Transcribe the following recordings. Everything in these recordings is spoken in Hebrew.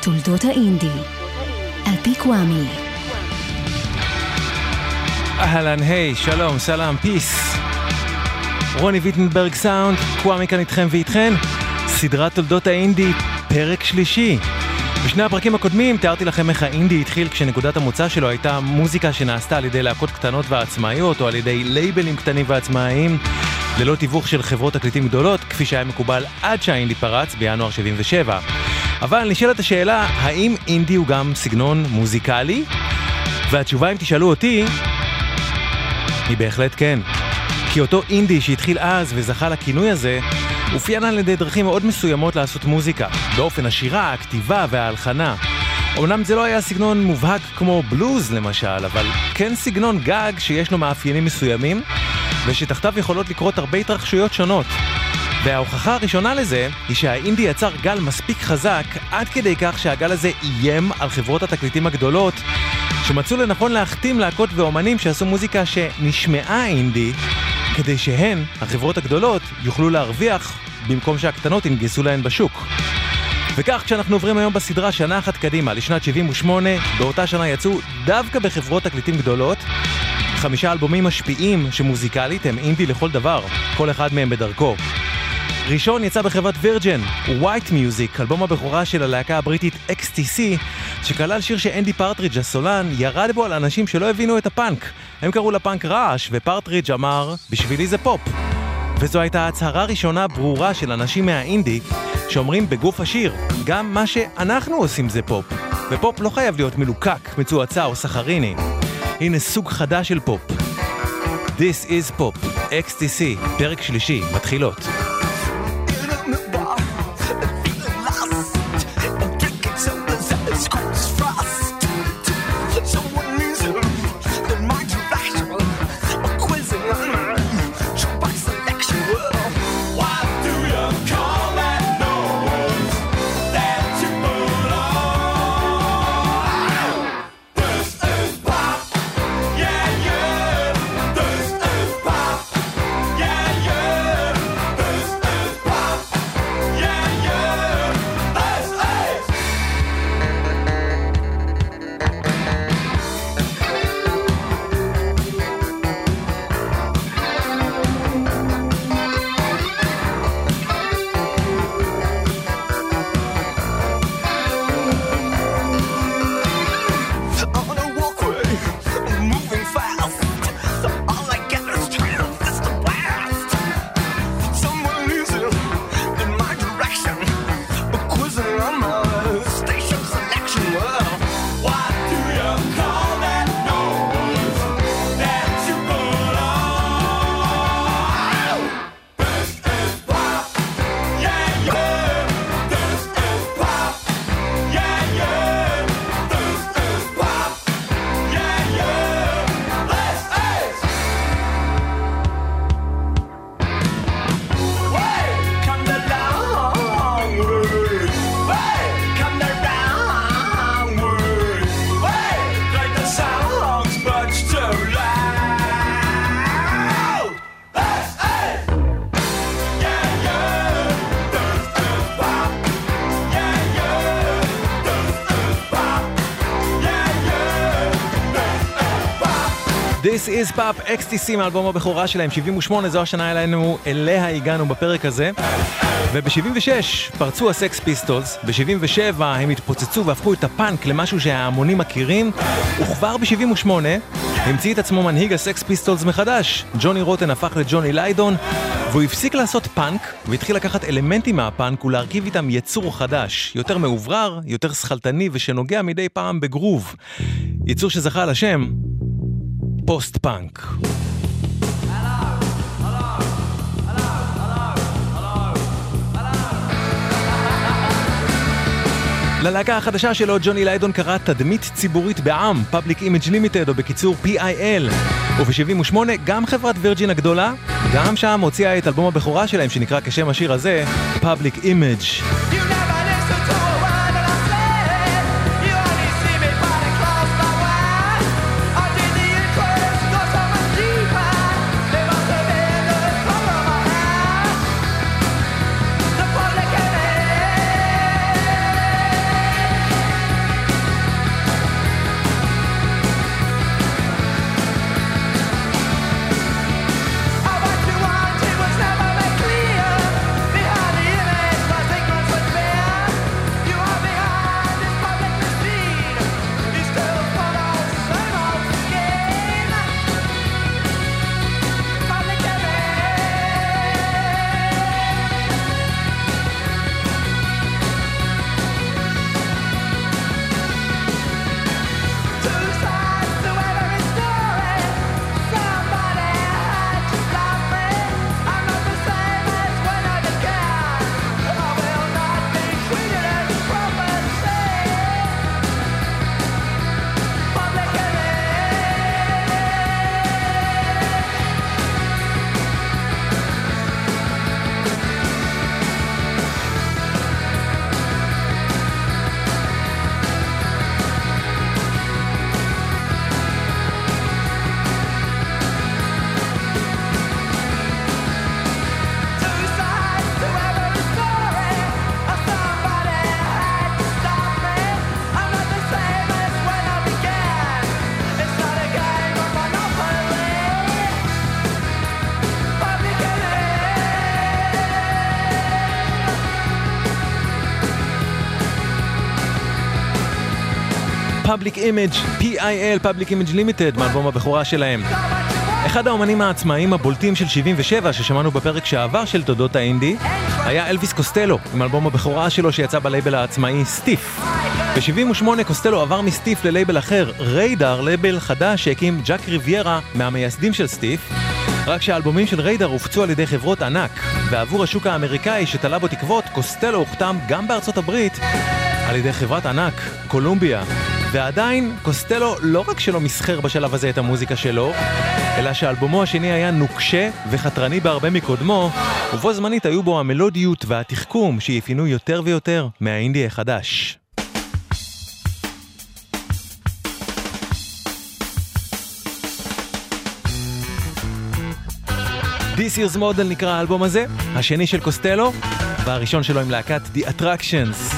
תולדות האינדי, על פי קוואמי. אהלן, היי, שלום, סלאם, פיס. רוני ויטנברג סאונד, קוואמי כאן איתכם ואיתכן. סדרת תולדות האינדי, פרק שלישי. בשני הפרקים הקודמים תיארתי לכם איך האינדי התחיל כשנקודת המוצא שלו הייתה מוזיקה שנעשתה על ידי להקות קטנות ועצמאיות או על ידי לייבלים קטנים ועצמאיים ללא תיווך של חברות תקליטים גדולות, כפי שהיה מקובל עד שהאינדי פרץ בינואר 77. אבל נשאלת השאלה, האם אינדי הוא גם סגנון מוזיקלי? והתשובה, אם תשאלו אותי, היא בהחלט כן. כי אותו אינדי שהתחיל אז וזכה לכינוי הזה, אופיין על ידי דרכים מאוד מסוימות לעשות מוזיקה, באופן השירה, הכתיבה וההלחנה. אומנם זה לא היה סגנון מובהק כמו בלוז למשל, אבל כן סגנון גג שיש לו מאפיינים מסוימים, ושתחתיו יכולות לקרות הרבה התרחשויות שונות. וההוכחה הראשונה לזה היא שהאינדי יצר גל מספיק חזק, עד כדי כך שהגל הזה איים על חברות התקליטים הגדולות, שמצאו לנכון להחתים להקות ואומנים שעשו מוזיקה שנשמעה אינדי, כדי שהן, החברות הגדולות, יוכלו להרוויח במקום שהקטנות ינגסו להן בשוק. וכך, כשאנחנו עוברים היום בסדרה שנה אחת קדימה, לשנת 78, באותה שנה יצאו דווקא בחברות תקליטים גדולות 5 אלבומים משפיעים שמוזיקלית הם אינדי לכל דבר, כל אחד מהם בדרכו. ראשון יצא בחברת וירג'ן, White Music, אלבום הבכורה של הלהקה הבריטית XTC, שכלל שיר שאנדי פרטריג' הסולן ירד בו על אנשים שלא הבינו את הפאנק. הם קראו לפאנק רעש, ופרטריג' אמר, בשבילי זה פופ. וזו הייתה הצהרה ראשונה ברורה של אנשים מהאינדי, שאומרים בגוף השיר, גם מה שאנחנו עושים זה פופ. ופופ לא חייב להיות מלוקק, מצועצע או סחריני. הנה סוג חדש של פופ. This is Pop, XTC, פרק שלישי, מתחילות. This is Pop, XTC מאלבום הבכורה שלהם, 78, זו השנה אליה הגענו בפרק הזה. וב-76 פרצו הסקס פיסטולס, ב-77 הם התפוצצו והפכו את הפאנק למשהו שההמונים מכירים, וכבר ב-78 המציא את עצמו מנהיג הסקס פיסטולס מחדש. ג'וני רוטן הפך לג'וני ליידון, והוא הפסיק לעשות פאנק, והתחיל לקחת אלמנטים מהפאנק ולהרכיב איתם יצור חדש, יותר מעוברר, יותר שחלטני ושנוגע מדי פעם בגרוב. יצור שזכה על השם פוסט פאנק. ללהקה החדשה שלו ג'וני ליידון קרא תדמית ציבורית בעם, Public Image Limited, או בקיצור PIL. וב-78 גם חברת וירג'ין הגדולה, גם שם הוציאה את אלבום הבכורה שלהם שנקרא כשם השיר הזה, Public Image. Public Image, PIL, Public Image Limited, מאלבום הבכורה שלהם. אחד האומנים העצמאיים הבולטים של 77 ששמענו בפרק שעבר של תולדות האינדי היה אלוויס קוסטלו, עם אלבום הבכורה שלו שיצא בלייבל העצמאי סטיף. ב-78 קוסטלו עבר מסטיף ללייבל אחר, ריידר, לייבל חדש שהקים ג'ק ריביירה מהמייסדים של סטיף. רק שהאלבומים של ריידר הופצו על ידי חברות ענק, ועבור השוק האמריקאי שתלה בו תקוות, קוסטלו הוחתם גם בארצות הברית על ידי חברת ענק, קולומביה. ועדיין, קוסטלו לא רק שלא מסחר בשלב הזה את המוזיקה שלו, אלא שאלבומו השני היה נוקשה וחתרני בהרבה מקודמו, ובו זמנית היו בו המלודיות והתחכום שיפינו יותר ויותר מהאינדי החדש. This Year's Model נקרא האלבום הזה, השני של קוסטלו, והראשון שלו עם להקת The Attractions.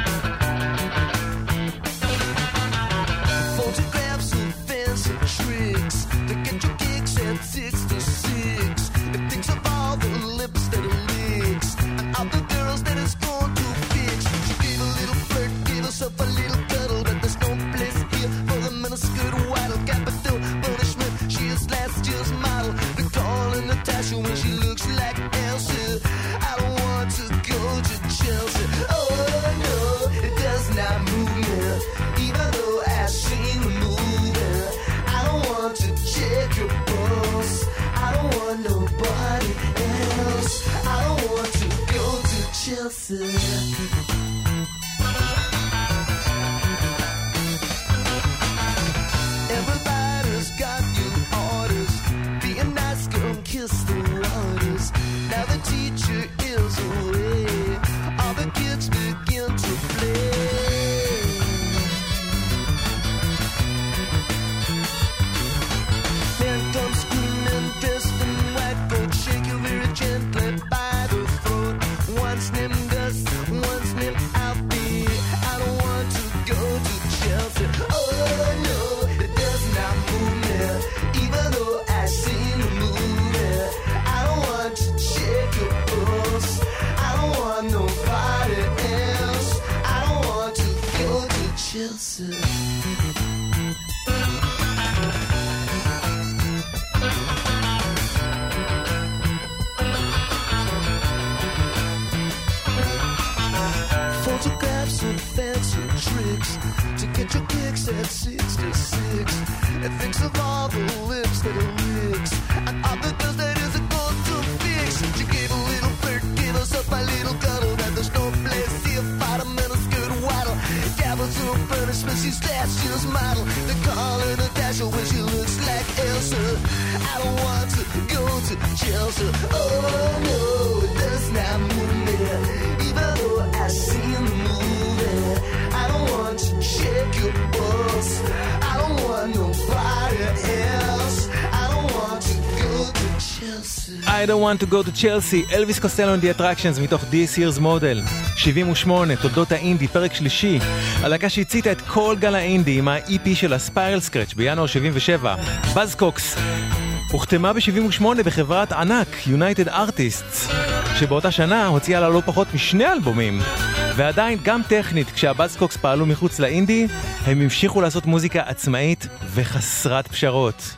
I don't want to go to Chelsea, אלוויס קוסטלו and the Attractions מתוך This Year's Model. 78, תולדות האינדי, פרק שלישי. הלהקה שהציתה את כל גל האינדי עם ה-EP של הספיירל סקרץ' בינואר 77. בזקוקס הוחתמה ב-78 בחברת ענק, United Artists, שבאותה שנה הוציאה לה לא פחות משני אלבומים. ועדיין, גם טכנית, כשהבזקוקס פעלו מחוץ לאינדי, הם המשיכו לעשות מוזיקה עצמאית וחסרת פשרות.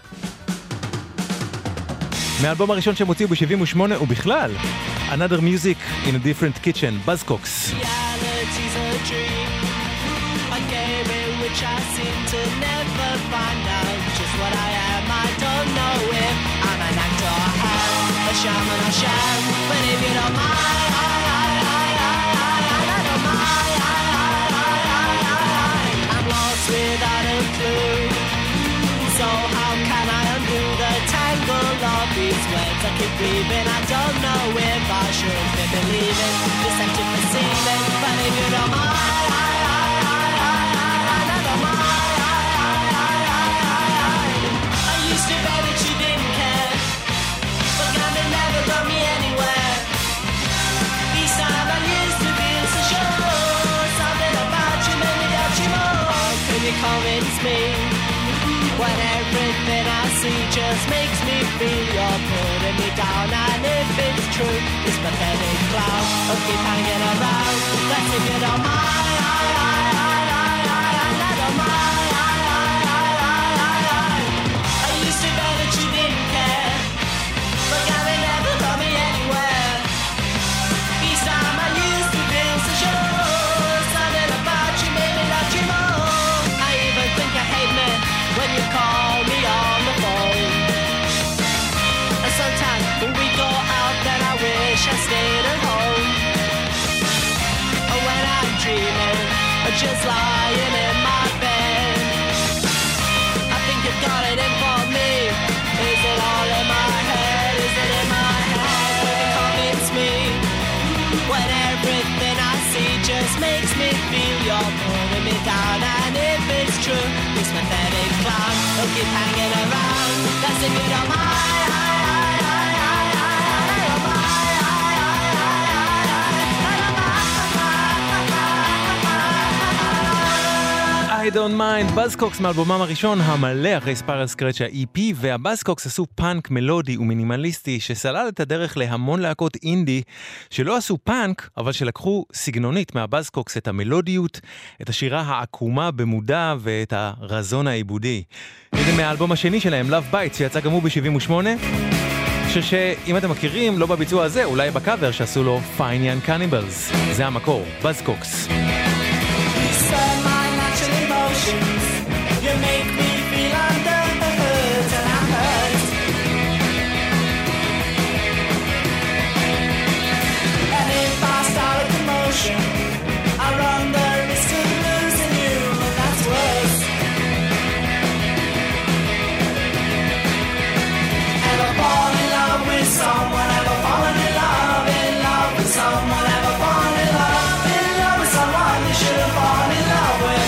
מהאלבום הראשון שהם הוציאו ב-78 ובכלל, Another Music in a Different Kitchen, Buzzcocks. Reality's a dream, a game in which I seem to never find out just what I am. I don't know if I'm an actor or a shaman or sham, but if you don't mind, I don't mind. I'm lost without a clue, so how can I undo the tangle of these words? I keep breathing, I don't know if I should be believing this empty perceiving, but if you don't mind, I don't mind. I used to bet that you didn't care, but kind of never got me anywhere. Each time I used to feel so sure, something about you made me doubt you more. Can you convince me when everything I see just makes me feel you're putting me down? And if it's true, this pathetic cloud will keep hanging around. Let's if you don't mind, I don't mind. just lying in my bed. I think you've got it in for me. Is it all in my head? Is it in my head? Will you convince me? When everything I see just makes me feel you're putting me down. And if it's true, this pathetic clown will keep hanging around. That's if you don't mind. I don't mind, בזקוקס מאלבומם הראשון המלא אחרי ספיירל סקרץ' ה-EP, והבזקוקס עשו פאנק מלודי ומינימליסטי שסלל את הדרך להמון להקות אינדי שלא עשו פאנק, אבל שלקחו סגנונית מהבזקוקס את המלודיות, את השירה העקומה במודע ואת הרזון העיבודי. הנה מהאלבום השני שלהם, Love Bites, שיצא גם הוא ב-78, שאם אתם מכירים, לא בביצוע הזה, אולי בקאבר שעשו לו Fine Young Cannibals. זה המקור, בזקוקס. You make me feel under the hood and I'm hurt. And if I start a commotion, I run the risk of losing you, and that's worse. Ever fall in love with someone? Ever fallen in love with someone? Ever fall in love with someone you should have fallen in love with?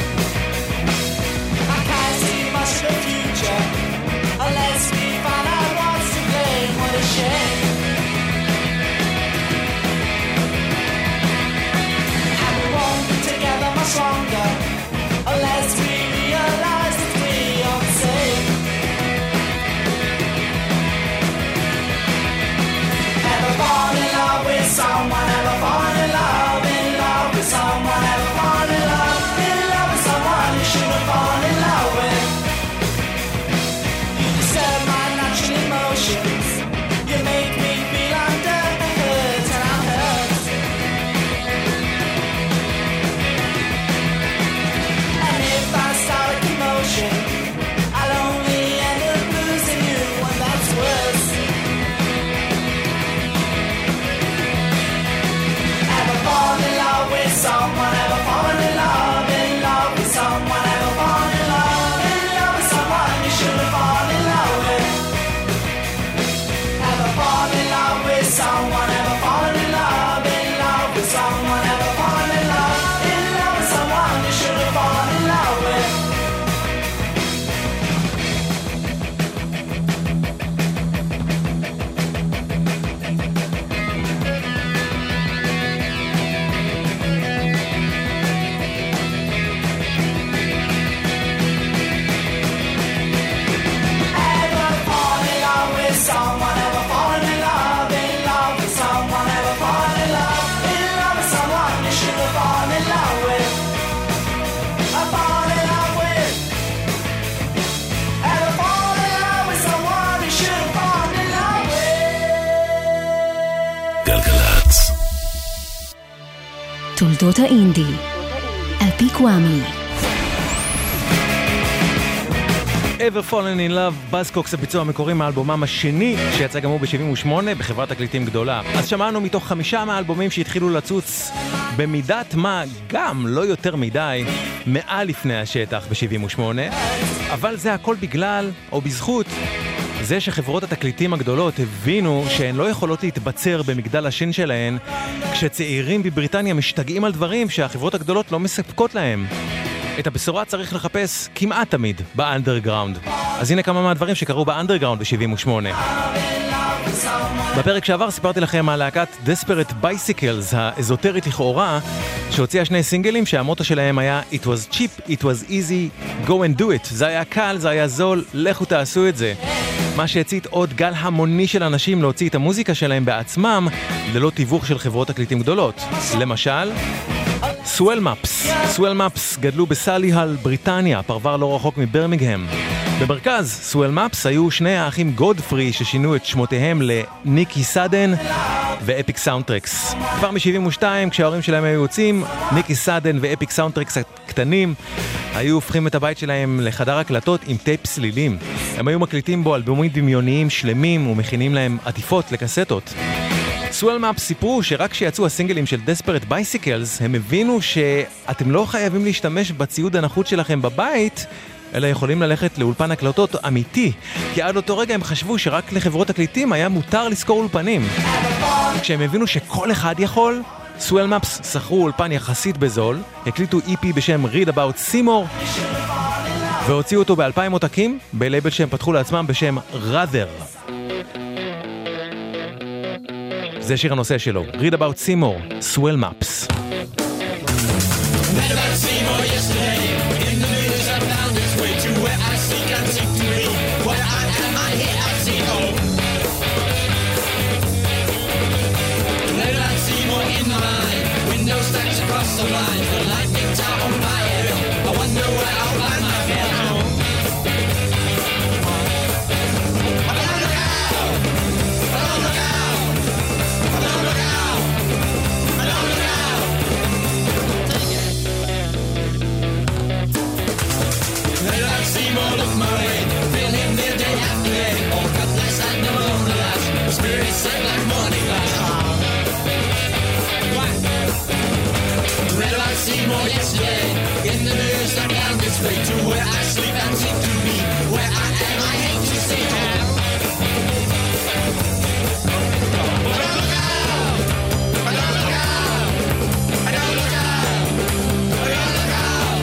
The future, unless we find out what's to blame. What a shame. And we won't be together much longer unless we realize that we are the same. Ever fall in love with someone? Ever fall in love with someone? Ever fall in love with someone you should have fallen in love with? Emotions. You make me feel under the hood and I'm hurt. And if I start a commotion, I'll only end up losing you, and that's worse. Ever fall in love with someone? Ever fall in love with someone? Ever fall in love with someone you should have fallen in love with? Fall in love with someone, ever fallen in love with someone, ever fallen in love with someone you should have fallen in love with. Ever fall in love with someone, ever fallen in love with someone, ever fallen in love with someone you should have fallen in love with. I fall in love with. Ever fall in love with someone you should have fallen in love with. גלגלצ. תולדות האינדי על פי קוואמי. Ever Fallen in Love, בזקוקס, הביצוע המקורי מהאלבומם השני שיצא גם הוא ב-78 בחברת תקליטים גדולה. אז שמענו מתוך 5 מהאלבומים שהתחילו לצוץ במידת מה, גם לא יותר מדי, מעל לפני השטח ב-78, אבל זה הכל בגלל או בזכות זה שחברות התקליטים הגדולות הבינו שהן לא יכולות להתבצר במגדל השן שלהן כשצעירים בבריטניה משתגעים על דברים שהחברות הגדולות לא מספקות להם. את הבשורה צריך לחפש כמעט תמיד באנדרגראונד. אז הנה כמה מהדברים שקרו באנדרגראונד ב-78. בפרק שעבר סיפרתי לכם על להקת Desperate Bicycles, האזוטרית לכאורה, שהוציאה 2 סינגלים שהמוטו שלהם היה It was cheap, it was easy, go and do it. זה היה קל, זה היה זול, לכו תעשו את זה. מה שהצית עוד גל המוני של אנשים להוציא את המוזיקה שלהם בעצמם, ללא תיווך של חברות תקליטים גדולות. למשל, סואל מפס גדלו בסאליהל, בריטניה, פרבר לא רחוק מברמיגהם. במרכז סואל מפס היו 2 האחים גודפרי ששינו את שמותיהם לניקי סאדן ואפיק סאונדטרקס. כבר מ-72, כשההורים שלהם היו יוצאים, ניקי סאדן ואפיק סאונדטרקס הקטנים היו הופכים את הבית שלהם לחדר הקלטות עם טייפ סלילים. הם היו מקליטים בו אלבומים דמיוניים שלמים ומכינים להם עטיפות לקסטות. סואל מאפ סיפרו שרק כשיצאו הסינגלים של Desperate Bicycles, הם הבינו שאתם לא חייבים להשתמש בציוד הנחות שלכם בבית, אלא יכולים ללכת לאולפן הקלטות אמיתי, כי עד אותו רגע הם חשבו שרק לחברות הקליטים היה מותר לשכור אולפנים. כשהם הבינו שכל אחד יכול, סואל מאפס שכרו אולפן יחסית בזול, הקליטו EP בשם Read About Seymour, והוציאו אותו ב2,000 עותקים, בלייבל שהם פתחו לעצמם בשם Rather. זה שיר הנושא שלו, Read About Seymour, סואל מאפס. The line, the lightning down on my head. I wonder where I'll find my head home. I don't look out. I don't look out. I don't look out. I don't look out. Let us see more of my way. Feel him there day after day. Oh, God bless and no longer last. Spirit set like morning glass. Read about Seymour yesterday. In the news, I'm down this way to where I sleep and seem to be. Where I am, I hate to see him. I don't look out. I don't look out. I don't look out. I don't look out.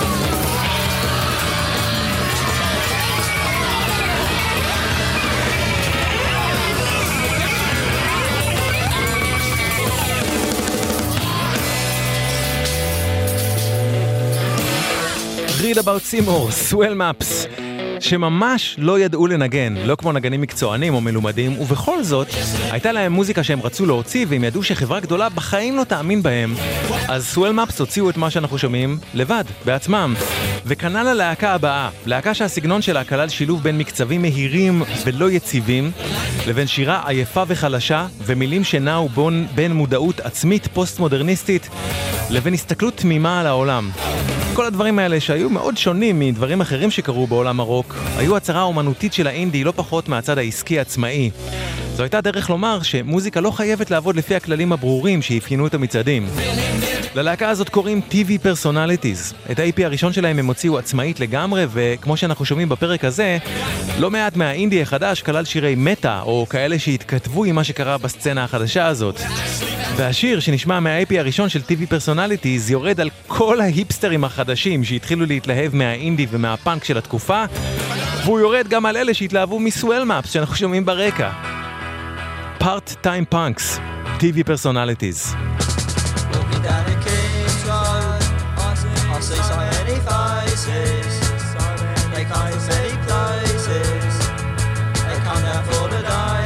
Read About Seymour, סואל מאפס, שממש לא ידעו לנגן, לא כמו נגנים מקצוענים או מלומדים, ובכל זאת, הייתה להם מוזיקה שהם רצו להוציא, והם ידעו שחברה גדולה בחיים לא תאמין בהם. אז סואל מאפס הוציאו את מה שאנחנו שומעים לבד, בעצמם. וכנ"ל הלהקה הבאה, להקה שהסגנון שלה כלל שילוב בין מקצבים מהירים ולא יציבים, לבין שירה עייפה וחלשה, ומילים שנעו בין מודעות עצמית פוסט-מודרניסטית, לבין הסתכלות תמימה על העולם. כל הדברים האלה שהיו מאוד שונים מדברים אחרים שקרו בעולם הרוק, היו הצהרה אומנותית של האינדי לא פחות מהצד העסקי עצמאי. זו הייתה דרך לומר שמוזיקה לא חייבת לעבוד לפי הכללים הברורים שאפיינו את המצעדים. ללהקה הזאת קוראים TV Personalities. את ה-EP הראשון שלהם הם הוציאו עצמאית לגמרי, וכמו שאנחנו שומעים בפרק הזה, לא מעט מהאינדי החדש כלל שירי מטה, או כאלה שהתכתבו עם מה שקרה בסצנה החדשה הזאת. והשיר שנשמע מה-IP הראשון של TV Personalities יורד על כל ההיפסטרים החדשים שהתחילו להתלהב מהאינדי ומהפאנק של התקופה, והוא יורד גם על אלה שהתלהבו מסואל מאפס שאנחנו שומעים ברקע. Part-time punks, TV Personalities. Walking down the King's Road, I see so many faces. They come from many places. They come down for the day.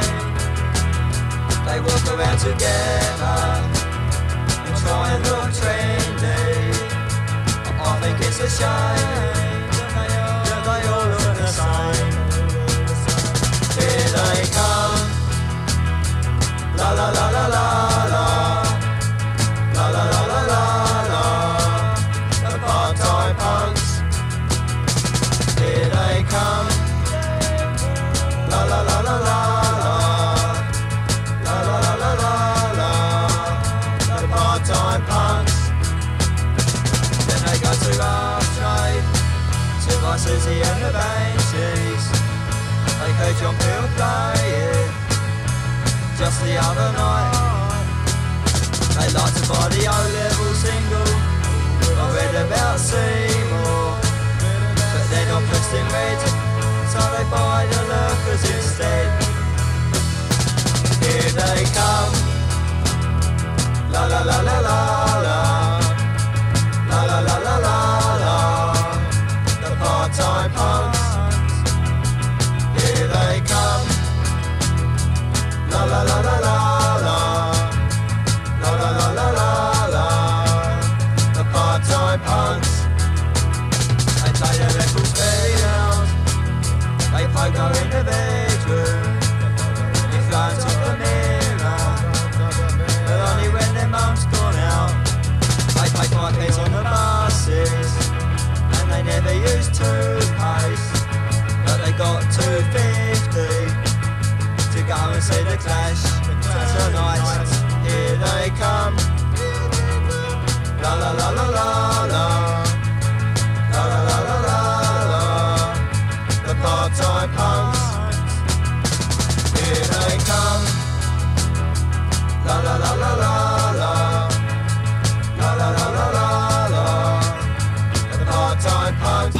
They walk around together and try and look trendy. I think it's a shame that they all look the same. Here they come. La la la la la la. La la la la la la. The part-time punks. Here they come. La la la la la la. La la la la la la. The part-time punks. Then they go to Rough Trade, to buy Susie and the Banshees. They heard John Peel play it just the other night. They like to buy the O-level single. I read about Seymour, but they're not pressed in red, so they buy the lurkers instead. Here they come. La la la la la la. La la la la la la. The part-time punks. Here they come. La la la la la la. La la la la la la. The part-time punks. They play their records very loud. They pogo in the bedroom. They fly to the mirror, but only when their mum's gone out. They play 5 pence on the buses.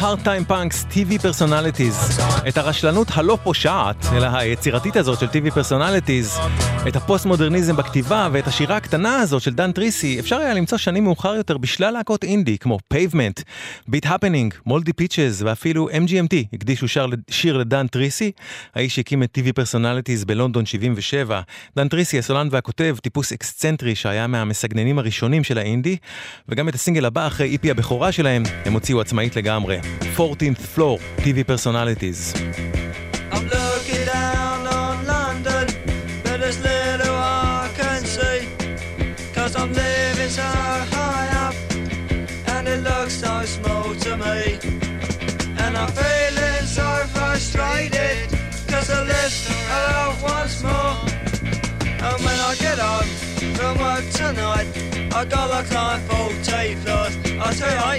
Part-Time Punks, TV Personalities. את הרשלנות הלא פושעת, אלא היצירתית הזאת של TV Personalities, את הפוסט-מודרניזם בכתיבה ואת השירה הקטנה הזאת של דן טריסי, אפשר היה למצוא שנים מאוחר יותר בשלל להקות אינדי, כמו Pavement, Beat Happening, Moldy Peaches ואפילו MGMT, הקדישו שיר לדן טריסי, האיש שהקים את TV Personalities בלונדון 77. דן טריסי, הסולן והכותב, טיפוס אקסצנטרי שהיה מהמסגננים הראשונים של האינדי, וגם את הסינגל הבא אחרי איפי הבכורה שלהם, הם הוציאו עצמאית לגמרי. 14th Floor, TV Personalities. I'm looking down on London, but there's little I can see, 'cause I'm living so high up, and it looks so small to me. And I'm feeling so frustrated, 'cause I list out once more. And when I get home from work tonight, I gotta climb 40 floors. I'll tell you,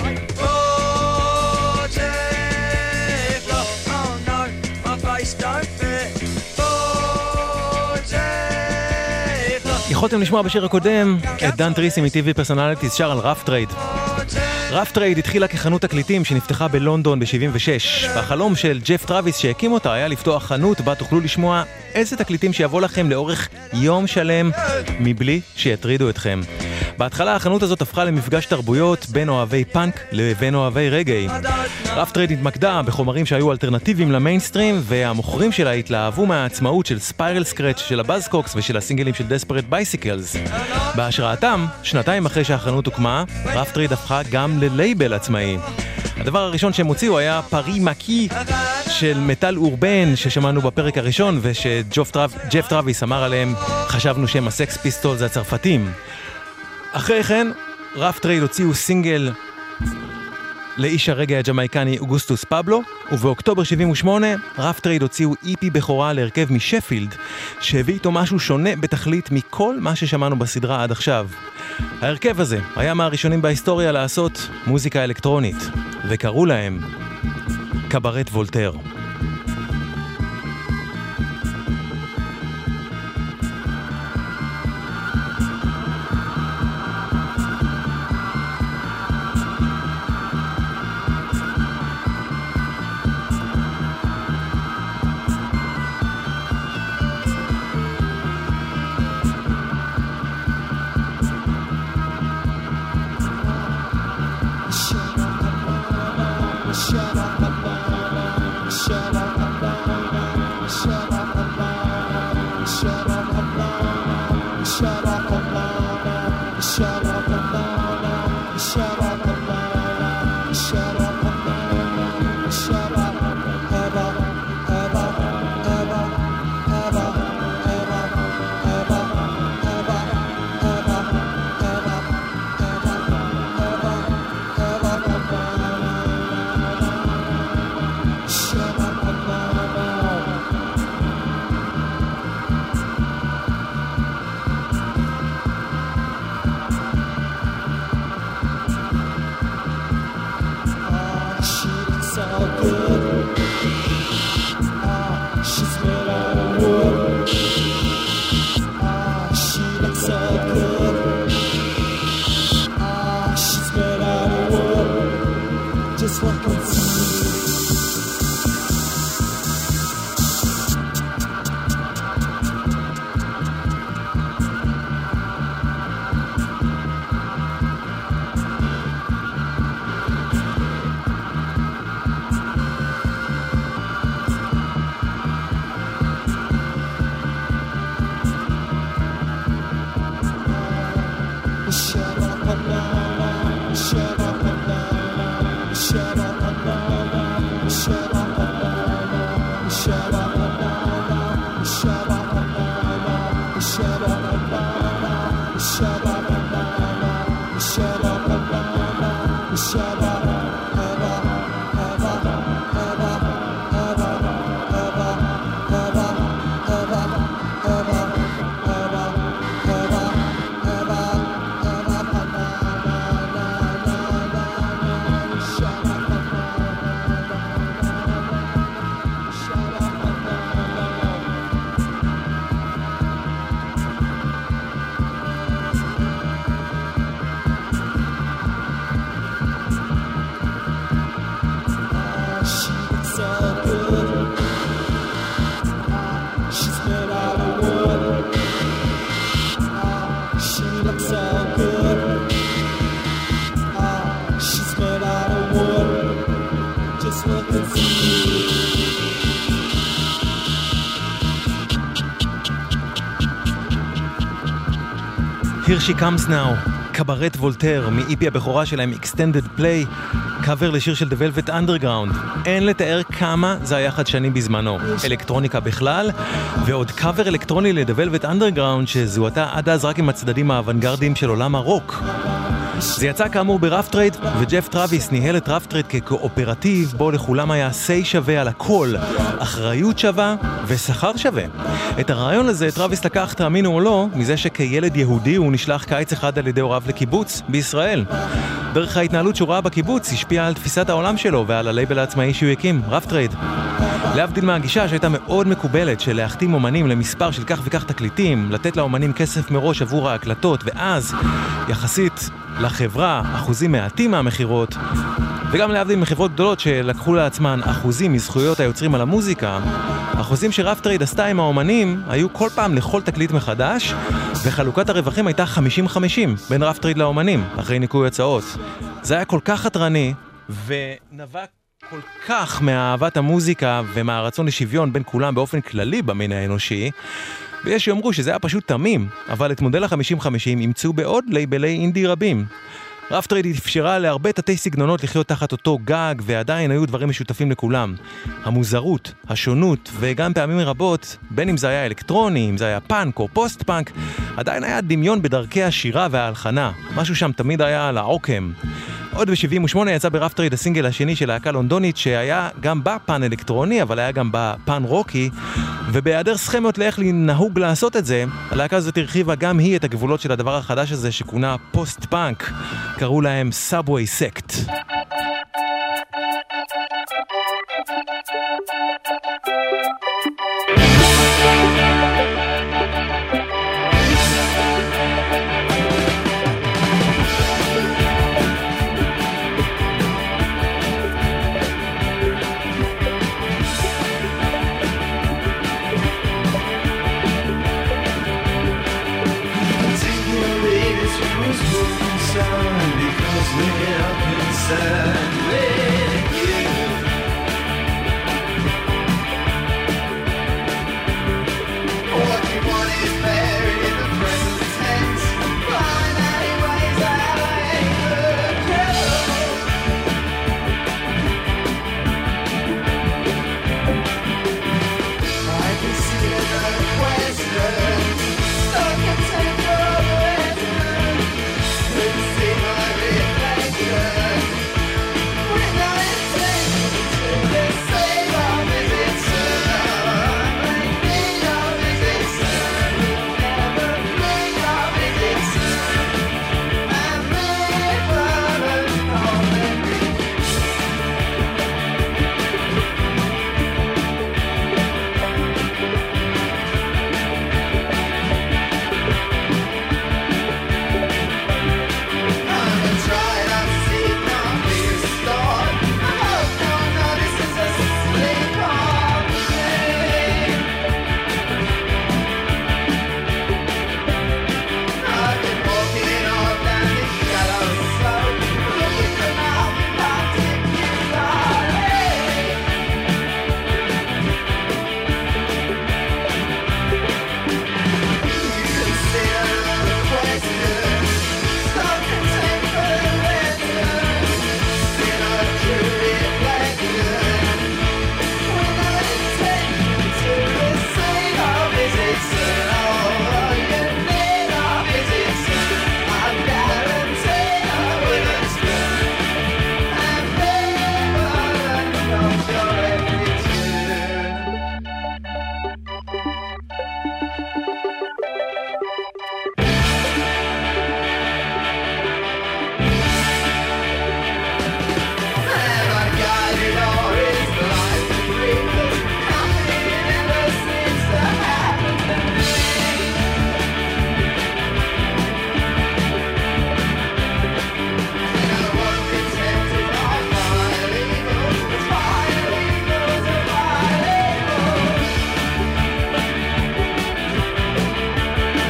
40 floors. Oh no, my face don't fit. 40 floors. יכולתם לשמוע בשיר הקודם את דן טריסי מ-TV Personalities שר על רף טרייד. רף טרייד התחילה כחנות תקליטים שנפתחה בלונדון ב-76, והחלום של ג'ף טרוויס שהקים אותה היה לפתוח חנות בה תוכלו לשמוע איזה תקליטים שיבוא לכם לאורך יום שלם מבלי שיטרידו אתכם. בהתחלה החנות הזאת הפכה למפגש תרבויות בין אוהבי פאנק לבין אוהבי רגעי. רף טרייד התמקדה בחומרים שהיו אלטרנטיביים למיינסטרים, והמוכרים שלה התלהבו מהעצמאות של ספיירל סקרץ' של הבאזקוקס ושל הסינגלים של דספרט בייסיקלס. בהשראתם, שנתיים אחרי שהחנות הוקמה, רף טרייד הפכה גם ללייבל עצמאי. הדבר הראשון שהם הוציאו היה פרי מקי של מטל אורבן ששמענו בפרק הראשון, ושג'ף טרוויס אמר עליהם, חשבנו שהם הסקס פיסטולס הצרפתים. אחרי כן, רף טרייד הוציאו סינגל לאיש הרגע הג'מייקני אוגוסטוס פבלו, ובאוקטובר 78 רף טרייד הוציאו איפי בכורה להרכב משפילד, שהביא איתו משהו שונה בתכלית מכל מה ששמענו בסדרה עד עכשיו. ההרכב הזה היה מהראשונים בהיסטוריה לעשות מוזיקה אלקטרונית, וקראו להם קברט וולטר. Here She Comes Now, קברט וולטר, מאיפי הבכורה שלהם Extended Play, קאבר לשיר של The Velvet Underground. אין לתאר כמה זה היה חדשני בזמנו. אלקטרוניקה בכלל, ועוד קאבר אלקטרוני ל-The Velvet Underground שזוהתה עד אז רק עם הצדדים האוונגרדיים של עולם הרוק. זה יצא כאמור ברף טרייד, וג'ף טרוויס ניהל את רף טרייד כקואופרטיב בו לכולם היה סי שווה על הכל, אחריות שווה ושכר שווה. את הרעיון הזה טרוויס לקח, תאמינו או לא, מזה שכילד יהודי הוא נשלח קיץ אחד על ידי הוריו לקיבוץ בישראל. דרך ההתנהלות שהוא ראה בקיבוץ השפיעה על תפיסת העולם שלו ועל הלייבל העצמאי שהוא הקים, רף טרייד. להבדיל מהגישה שהייתה מאוד מקובלת של להחתים אומנים למספר של כך וכך תקליטים, לתת לאומנים כסף מראש עבור ההקלטות, ואז יחסית לחברה אחוזים מעטים מהמחירות, וגם להבדיל מחברות גדולות שלקחו לעצמן אחוזים מזכויות היוצרים על המוזיקה, אחוזים שרף טרייד עשתה עם האומנים היו כל פעם לכל תקליט מחדש, וחלוקת הרווחים הייתה 50-50 בין רף טרייד לאומנים אחרי ניקוי הצעות. זה היה כל כך חתרני ונבע כל כך מאהבת המוזיקה ומהרצון לשוויון בין כולם באופן כללי במין האנושי, ויש שיאמרו שזה היה פשוט תמים, אבל את מודל ה-50-50 ימצאו בעוד לייבלי אינדי רבים. רף טרייד אפשרה להרבה תתי סגנונות לחיות תחת אותו גג, ועדיין היו דברים משותפים לכולם. המוזרות, השונות, וגם פעמים רבות, בין אם זה היה אלקטרוני, אם זה היה פאנק או פוסט פאנק, עדיין היה דמיון בדרכי השירה וההלחנה. משהו שם תמיד היה על העוקם. עוד ב-78 יצא ברף טרייד הסינגל השני של להקה לונדונית, שהיה גם בה פן אלקטרוני, אבל היה גם בה פן רוקי, ובהיעדר סכמות לאיך נהוג לעשות את זה, הלהקה הזאת הרחיבה גם היא את הגבולות של הדבר החדש הזה שכונה פוסט פאנק. קראו להם Subway Sect.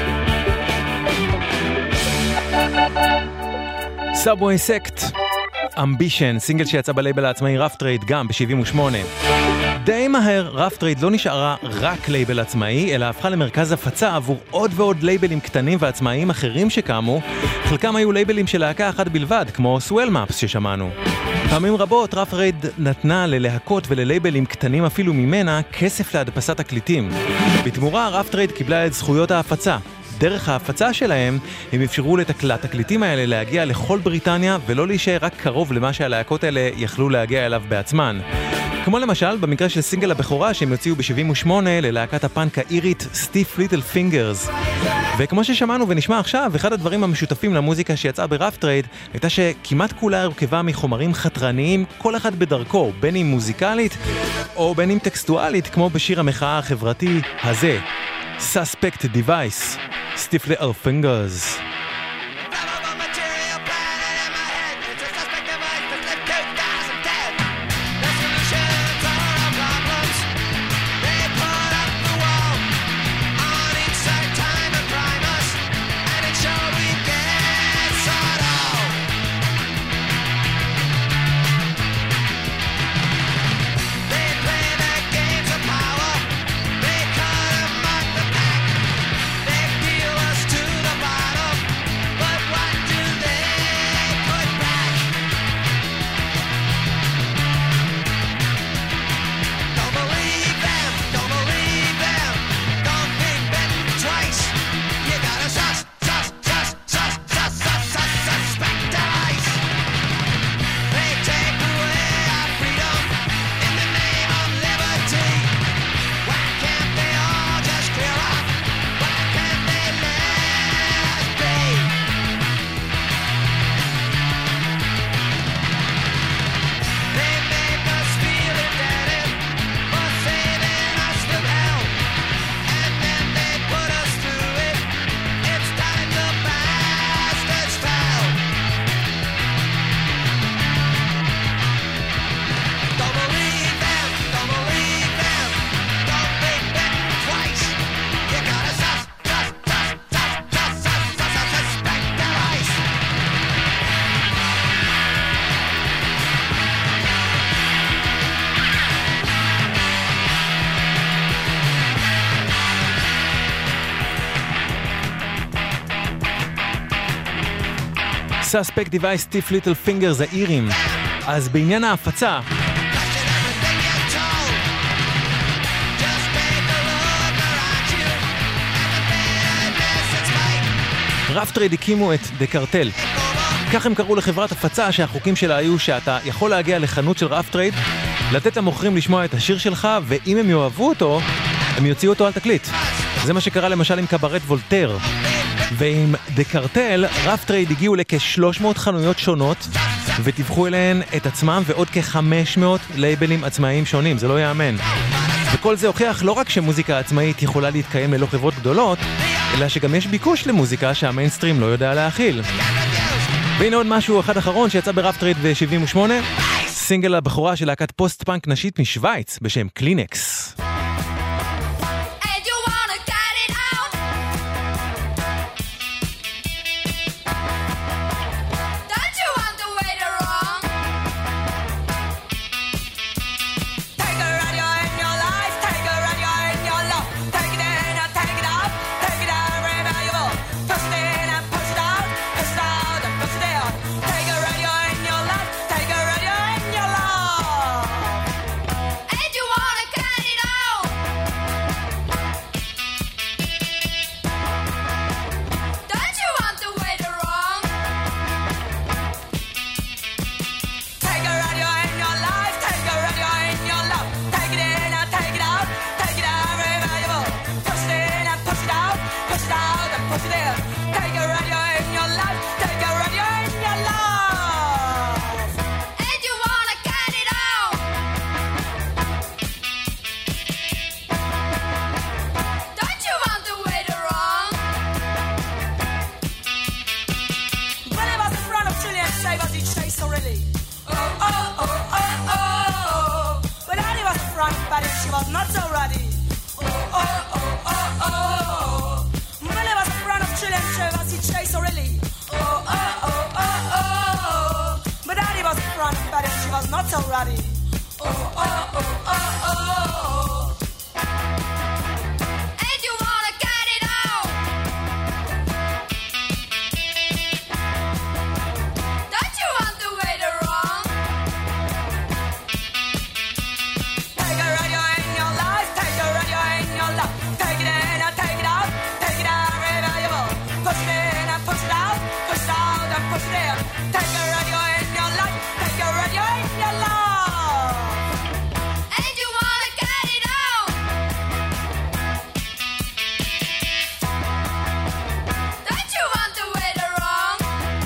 Subway Sect, Ambition, סינגל שיצא בלייבל העצמאי רף טרייד גם ב-78. די מהר רף טרייד לא נשארה רק לייבל עצמאי, אלא הפכה למרכז הפצה עבור עוד ועוד לייבלים קטנים ועצמאיים אחרים שקמו. חלקם היו לייבלים של להקה אחת בלבד, כמו Swell Maps ששמענו. פעמים רבות רף טרייד נתנה ללהקות וללייבלים קטנים אפילו ממנה כסף להדפסת תקליטים. בתמורה רף טרייד קיבלה את זכויות ההפצה. דרך ההפצה שלהם הם אפשרו לתקליטים האלה להגיע לכל בריטניה ולא להישאר רק קרוב למה שהלהקות האלה יכלו להגיע אליו בעצמן. כמו למשל במקרה של סינגל הבכורה שהם יוציאו ב-78 ללהקת הפאנק האירית Stiff Little Fingers. וכמו ששמענו ונשמע עכשיו, אחד הדברים המשותפים למוזיקה שיצאה ברף טרייד הייתה שכמעט כולה הרכבה מחומרים חתרניים, כל אחד בדרכו, בין אם מוזיקלית או בין אם טקסטואלית, כמו בשיר המחאה החברתי הזה, Suspect Device, Stiff Little Fingers. Suspect Device, Stiff Little Fingers, האירים. אז בעניין ההפצה, רף טרייד הקימו את דה קרטל. כך הם קראו לחברת הפצה שהחוקים שלה היו שאתה יכול להגיע לחנות של רף טרייד, לתת למוכרים לשמוע את השיר שלך, ואם הם יאהבו אותו, הם יוציאו אותו על תקליט. זה מה שקרה למשל עם קברט וולטר. ועם דה קרטל, רף טרייד הגיעו לכ-300 חנויות שונות, וטיווחו אליהן את עצמם ועוד כ-500 לייבלים עצמאיים שונים, זה לא יאמן. וכל זה הוכיח לא רק שמוזיקה עצמאית יכולה להתקיים ללא חברות גדולות, אלא שגם יש ביקוש למוזיקה שהמיינסטרים לא יודע להכיל. והנה עוד משהו אחד אחרון שיצא ברף טרייד ב-78, סינגל הבכורה של להקת פוסט-פאנק נשית משוויץ בשם קלינקס. And you wanna cut it What's already? Oh, oh, oh, oh, oh, oh. And you wanna get it out? Don't you want to wait wrong? Take a radio in your life, take a radio in your life. Take it in and take it out, take it out, reliable. Push it in and push it out and push it in. Take a radio in your life, take a radio in your life. And you wanna get it out? Don't you want to wait wrong?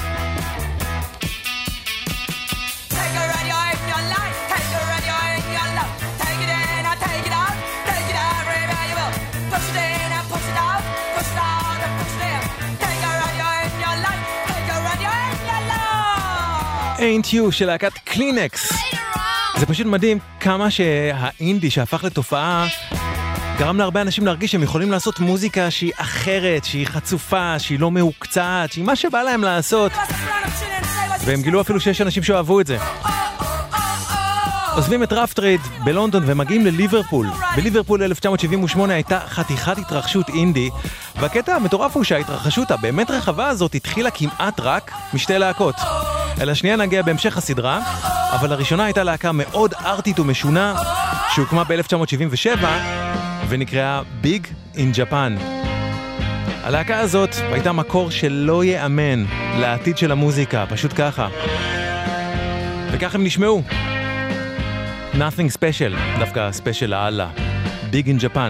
Take a radio in your life, take a radio in your life. Take it in and take it out, reliable. Push it in and push it out and push it in. Take a radio in your life, take a radio in your life. Ain't You של להקת קלינקס. זה פשוט מדהים כמה שהאינדי שהפך לתופעה גרם להרבה אנשים להרגיש שהם יכולים לעשות מוזיקה שהיא אחרת, שהיא חצופה, שהיא לא מהוקצעת, שהיא מה שבא להם לעשות. והם גילו אפילו שיש אנשים שאוהבו את זה. עוזבים את רפטריד בלונדון ומגיעים לליברפול. בליברפול 1978 הייתה חתיכת התרחשות אינדי, והקטע המטורף הוא שההתרחשות הבאמת רחבה הזאת התחילה כמעט רק משתי להקות. אל השנייה נגיע בהמשך הסדרה, אבל הראשונה הייתה להקה מאוד ארטית ומשונה, שהוקמה ב-1977 ונקראה ביג אין ג'פן. הלהקה הזאת הייתה מקור שלא יאמן לעתיד של המוזיקה, פשוט ככה. וכך הם נשמעו. Nothing special, דווקא ספיישל לאללה. ביג אין ג'פן.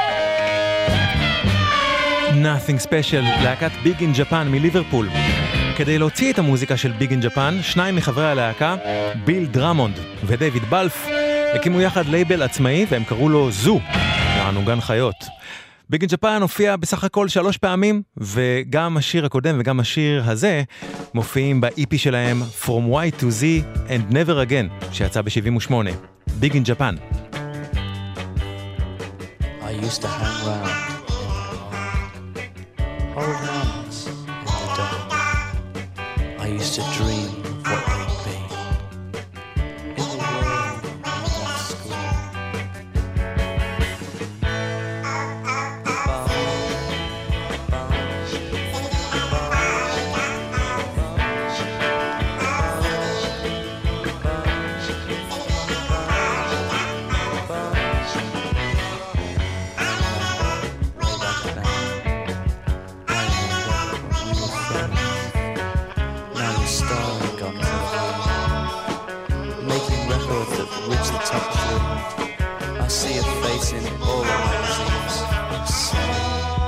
Nothing Special, להקת ביג אין ג'פן מליברפול. כדי להוציא את המוזיקה של ביג אין ג'פן, שניים מחברי הלהקה, ביל דרמונד ודייוויד בלף, הקימו יחד לייבל עצמאי והם קראו לו זו, יענו גן חיות. ביג אין ג'פן הופיע בסך הכל 3 פעמים, וגם השיר הקודם וגם השיר הזה מופיעים ב-EP שלהם From Y to Z and Never Again, שיצא ב-78. ביג אין ג'פן. I used to hang round, hold hands in the dark. I used to dream of what they'd be in the world of that school. I see a face in all the magazines. I'm sorry.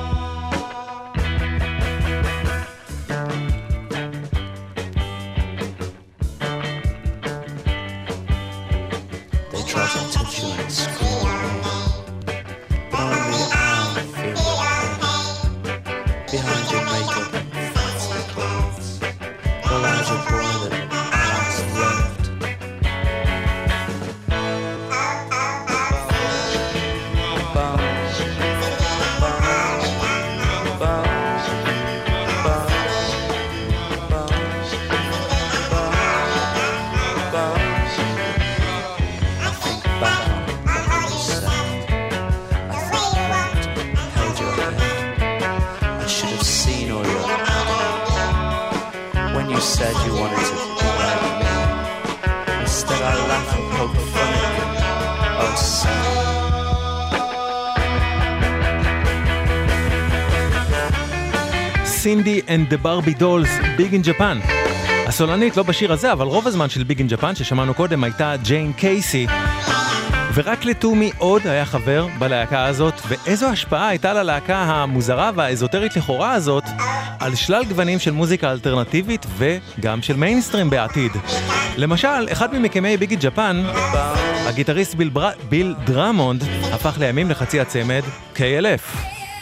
They try to touch you and scream away, but only I feel the pain. Behind your makeup and fancy clothes, there lies a boy that I once loved. Said you wanted to be like me. Instead I laugh and poke fun at you. Oh, son. סינדי and the Barbie Dolls, ביג אין ג'פן. הסולנית לא בשיר הזה, אבל רוב הזמן של ביג אין ג'פן ששמענו קודם הייתה ג'יין קייסי. ורק לתומי עוד היה חבר בלהקה הזאת, ואיזו השפעה הייתה ללהקה המוזרה והאזוטרית לכאורה הזאת על שלל גוונים של מוזיקה אלטרנטיבית וגם של מיינסטרים בעתיד. למשל, אחד ממקימי ביג אין ג'פן, הגיטריסט ביל דרמונד, הפך לימים לחצי הצמד KLF.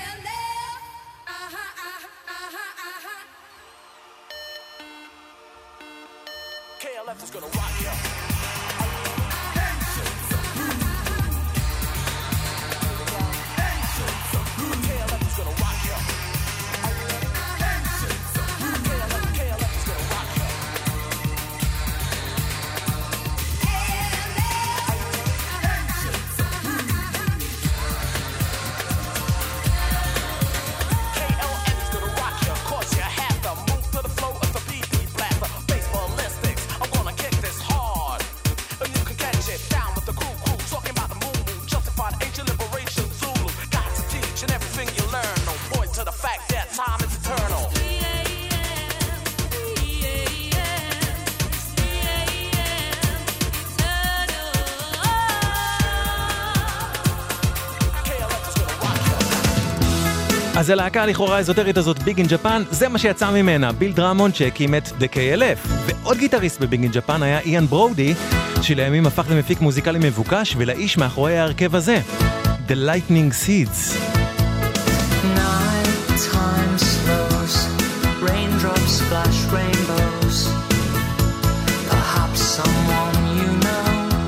אז הלהקה לכאורה האזוטרית הזאת, ביג אין ג'פן, זה מה שיצא ממנה, ביל דרמונד שהקים את The KLF. ועוד גיטריסט בביג אין ג'פן היה איאן ברודי, שלימים הפך למפיק מוזיקלי מבוקש ולאיש מאחורי ההרכב הזה, The Lightning Seeds. Night time slows, raindrops splash rainbows. Perhaps someone you know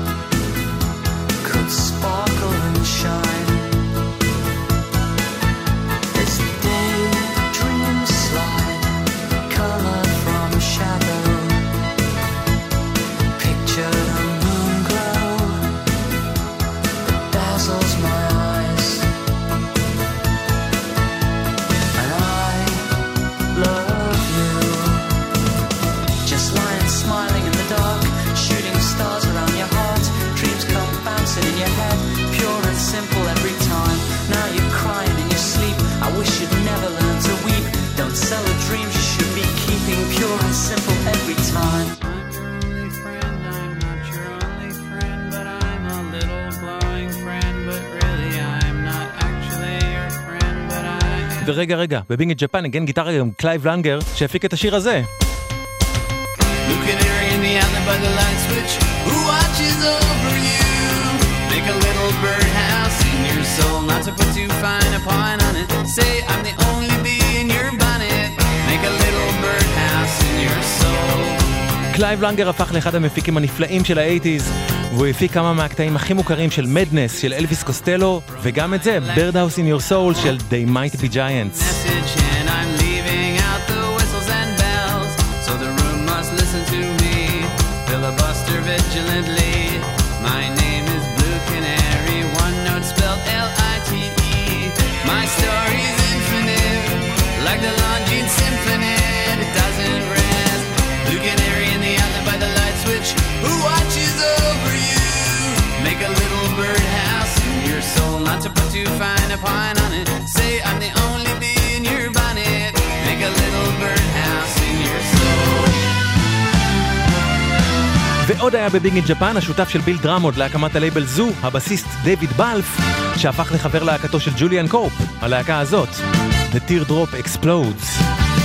could sparkle and shine. ורגע, בביג אין ג'פן נגן גיטרה גם קלייב לנגר שהפיק את השיר הזה. Blue canary in the outlet by the light switch, who watches over you? Make a little birdhouse in your soul, not to put too fine a point on it. Say I'm the only bee in your bonnet. Make a little birdhouse in your soul. קלייב לנגר הפך לאחד המפיקים הנפלאים של ה-80s, והוא הפיק כמה מהקטעים הכי מוכרים של מדנס של אלוויס קוסטלו, וגם את זה, Birdhouse in Your Soul של They Might Be Giants. And I'm leaving out the whistles and bells, so the room must listen to me, filibuster vigilantly. My name is Blue Canary, one note spelled L-I-T-E. My story's infinite, like the Longines Symphony, it doesn't rest. Blue Canary in the outlet by the light switch, who watches over you? Make a little birdhouse in your soul, not to put too fine a point on it. Say I'm the only bee in your bonnet. Make a little birdhouse in your soul. ועוד היה בביג אין ג'פן השותף של ביל דרמוד להקמת הלייבל זו, הבסיסט דיוויד בלף, שהפך לחבר להקתו של ג'וליאן קורפ, הלהקה הזאת, The Teardrop Explodes.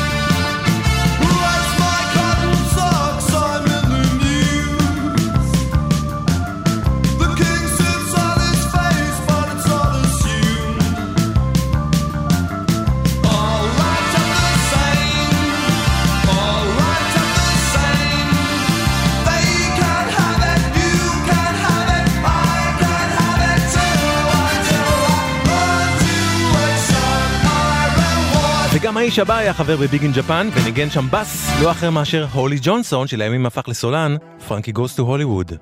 וגם האיש הבא היה חבר בביג אין ג'פן וניגן שם בס, לא אחר מאשר הולי ג'ונסון, שלימים הפך לסולן, פרנקי גוס טו הוליווד.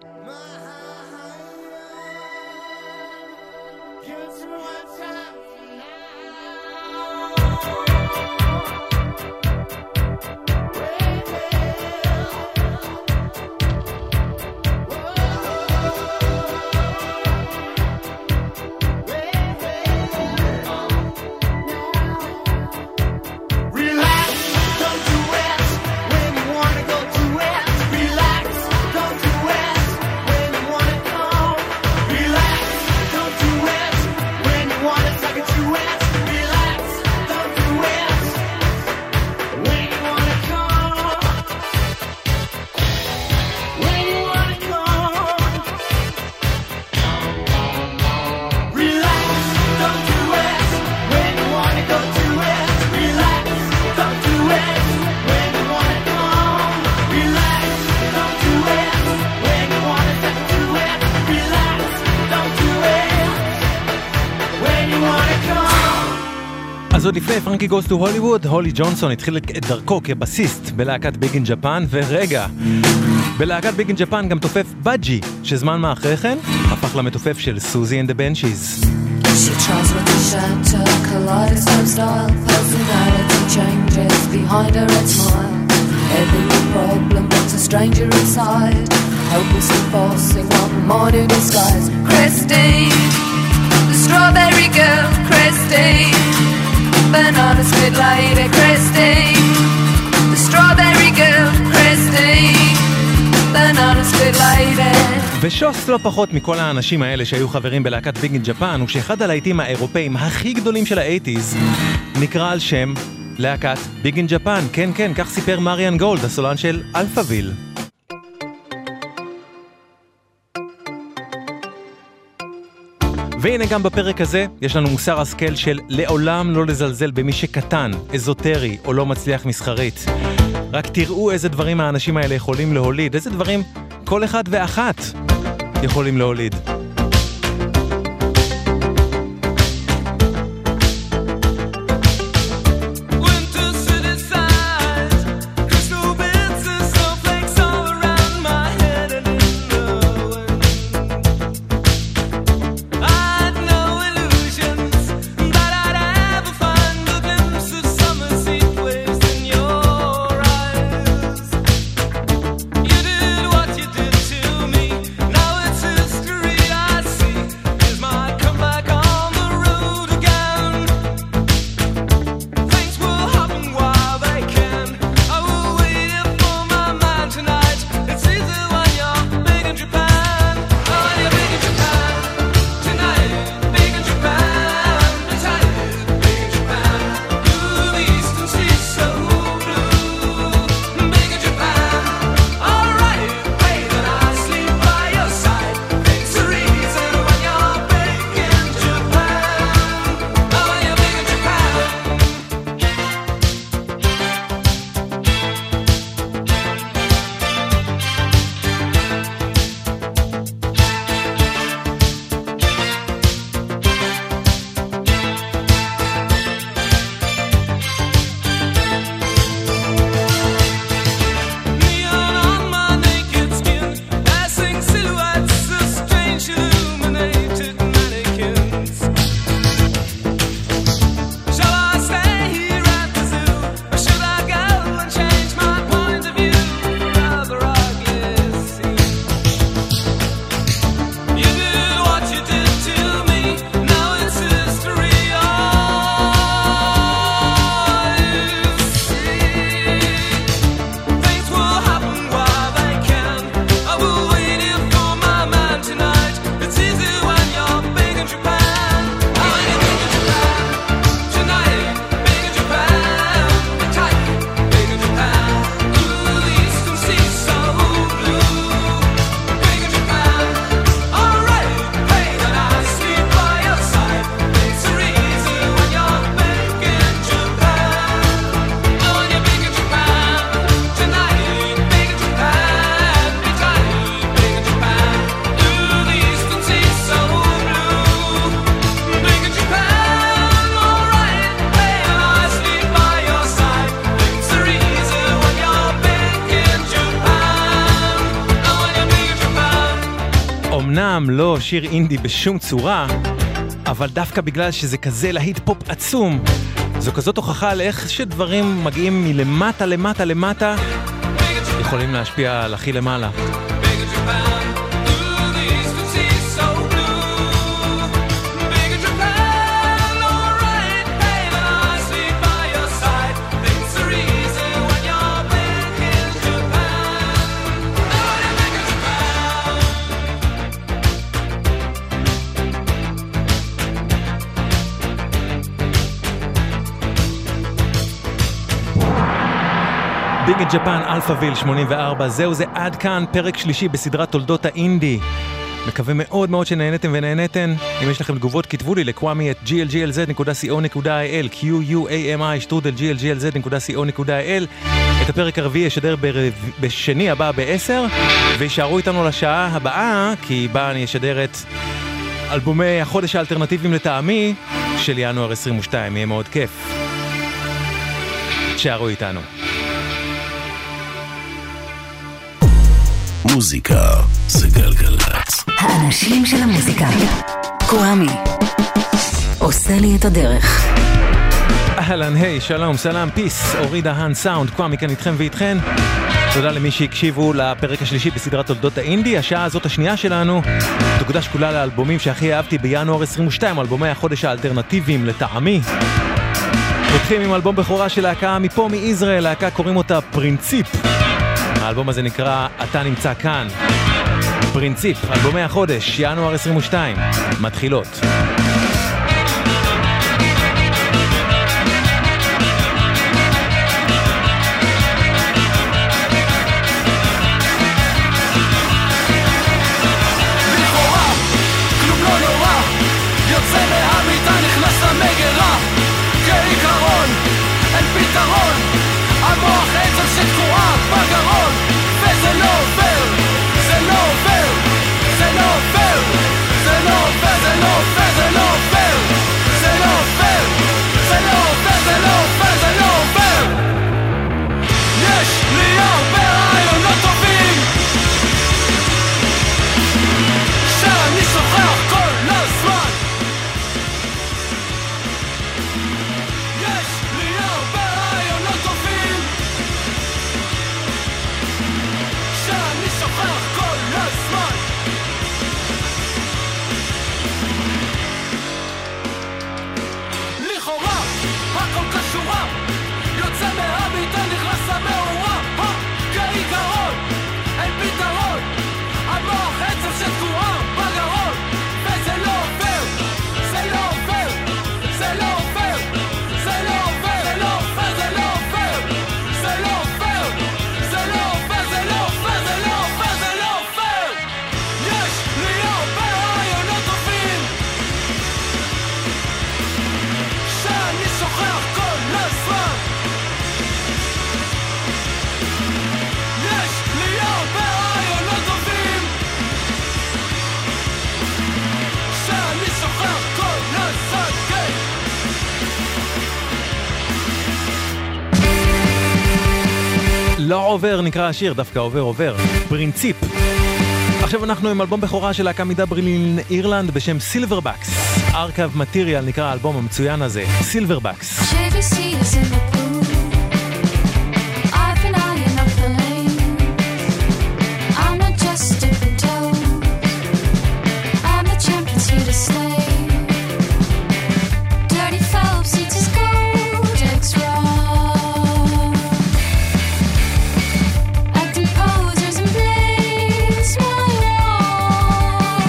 אז עוד לפני פרנקי גוס טו הוליווד, הולי ג'ונסון התחיל את דרכו כבסיסט בלהקת ביג אין ג'פן, ורגע, בלהקת ביג אין ג'פן גם תופף בג'י, שזמן מה אחרי כן הפך למתופף של סוזי and the Banshees. She tries with a shatter, kaleidoscope style, personality changes behind her red smile. Every problem puts a stranger inside, helplessly forcing on modern disguise. Christine, the strawberry girl, Christine, banana split lady, Christine, the strawberry girl, Christine, banana split lady. ושוס לא פחות מכל האנשים האלה שהיו חברים בלהקת ביג אין ג'פן, הוא שאחד הלהיטים האירופאים הכי גדולים של ה-80s נקרא על שם להקת ביג אין ג'פן. כן, כן, כך סיפר מריאן גולד, הסולן של אלפאביל. והנה גם בפרק הזה יש לנו מוסר השכל של לעולם לא לזלזל במי שקטן, אזוטרי או לא מצליח מסחרית. רק תראו איזה דברים האנשים האלה יכולים להוליד, איזה דברים כל אחד ואחת יכולים להוליד. You did what you did to me. Now it's history. אמנם לא שיר אינדי בשום צורה, אבל דווקא בגלל שזה כזה להיט פופ עצום, זו כזאת הוכחה על איך שדברים מגיעים מלמטה למטה למטה, יכולים להשפיע על הכי למעלה. ביג את ג'פן, אלפאביל 84, זהו זה עד כאן, פרק שלישי בסדרת תולדות האינדי. מקווה מאוד מאוד שנהנתם ונהנתן. אם יש לכם תגובות, כתבו לי ל-kwami@glglz.co.il, QUAMI@glglz.co.il. את הפרק הרביעי ישדר בשני הבא ב-10, וישארו איתנו לשעה הבאה, כי בה אני אשדר את אלבומי החודש האלטרנטיביים לטעמי של ינואר 22, יהיה מאוד כיף. תשארו איתנו. מוזיקה זה גלגלצ. האנשים של המוזיקה. קוואמי עושה לי את הדרך. אהלן, היי, שלום, סלאם, פיס, אורי דהן סאונד, קוואמי כאן איתכם ואיתכן. תודה למי שהקשיבו לפרק השלישי בסדרת תולדות האינדי. השעה הזאת השנייה שלנו תוקדש כולה לאלבומים שהכי אהבתי בינואר 22, אלבומי החודש האלטרנטיביים לטעמי. פותחים עם אלבום בכורה של להקה מפה מישראל, להקה קוראים אותה פרינציפ. האלבום הזה נקרא אתה נמצא כאן. פרינציפ, אלבומי החודש, ינואר 22, מתחילות. לכאורה, כלום לא נורא, יוצא מהמיטה נכנס למגרה. כעיקרון, אין פתרון, המוח עצר שתקועה בגרון, וזה לא עובר, זה לא עובר, זה לא עובר, זה לא עובר, זה לא עובר, זה לא עובר, זה לא עובר, זה לא עובר, זה לא עובר, זה לא עובר. יש לי הרבה רעיונות טובים שאני שוכח כל הזמן. יש לי הרבה רעיונות טובים שאני שוכח כל הזמן. לכאורה הכל קשורה, יוצא מהמיטה נכנס למאורה. כעיקרון אין פתרון, המוח עצב שתקועה בגרון, וזה לא עובר, זה לא עובר, זה לא עובר, זה לא עובר, זה לא עובר, זה לא עובר, זה לא עובר, זה לא עובר, זה לא עובר, זה לא עובר, זה לא עובר. יש לי הרבה רעיונות טובים שאני שוכח כל הזמן. יש לי הרבה רעיונות טובים שאני שוכח כל הזמן, כן. לא עובר נקרא השיר, דווקא עובר עובר. פרינציפ. עכשיו אנחנו עם אלבום בכורה של להקה מדברלין אירלנד בשם סילברבקס. ארכב מטריאל נקרא האלבום המצוין הזה, סילברבקס. Chevy seats in the pool. I've been eyeing up the lane. I'm not just dipping toes. I'm the champion's here to stay. Dirty Phelps eats his gold eggs raw. Acting posers and blaze my wall.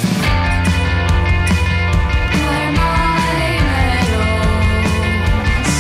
Where my medals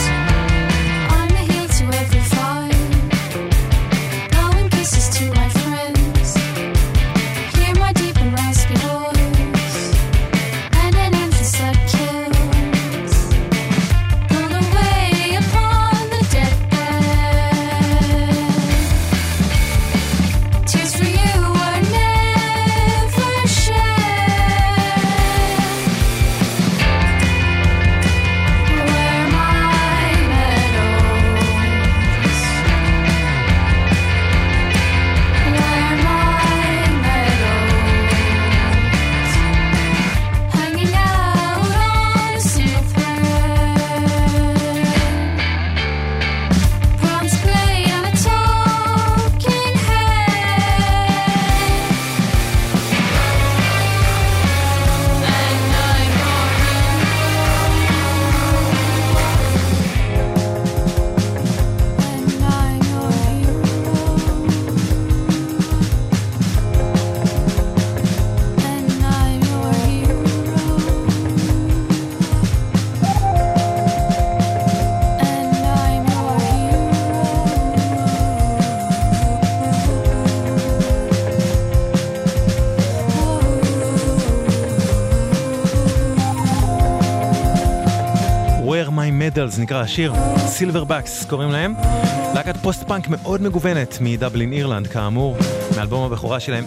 Medals נקרא השיר, Silverbacks קוראים להם. להקת פוסט-פאנק מאוד מגוונת מדבלין אירלנד כאמור, מאלבום הבכורה שלהם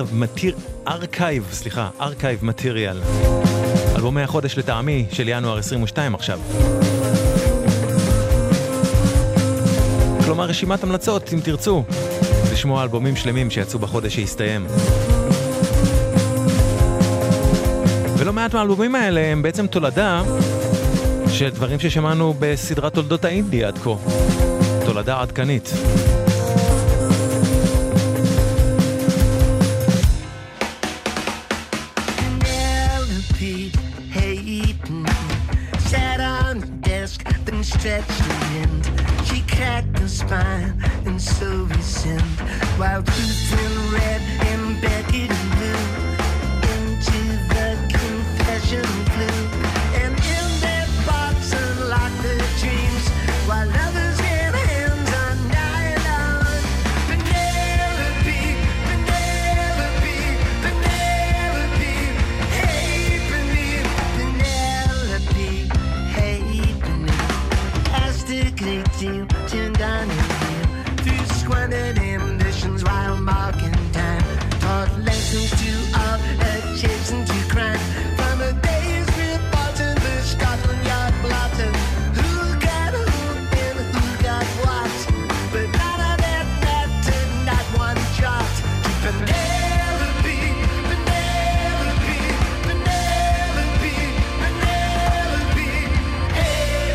Archive Material. אלבומי החודש לטעמי של ינואר 22 עכשיו. כלומר רשימת המלצות אם תרצו לשמוע אלבומים שלמים שיצאו בחודש שהסתיים. ולא מעט מהאלבומים האלה הם בעצם תולדה של דברים ששמענו בסדרת תולדות האינדי עד כה. תולדה עדכנית. Stretched the end, she cracked the spine, and so we sinned. While Ruth in red and Beckett in blue into the confession flew, and in that box unlocked their dreams, while others had hands on nylon. Penelope, Penelope, Penelope, hey Penelope, hey a great deal turned on his heel through squandered ambitions while marking time, taught lessons to all adjacent to crime, from a day's report to the Scotland Yard blotting who got who and who got what, but none of that mattered, not one jot to Penelope, Penelope, Penelope, Penelope, hey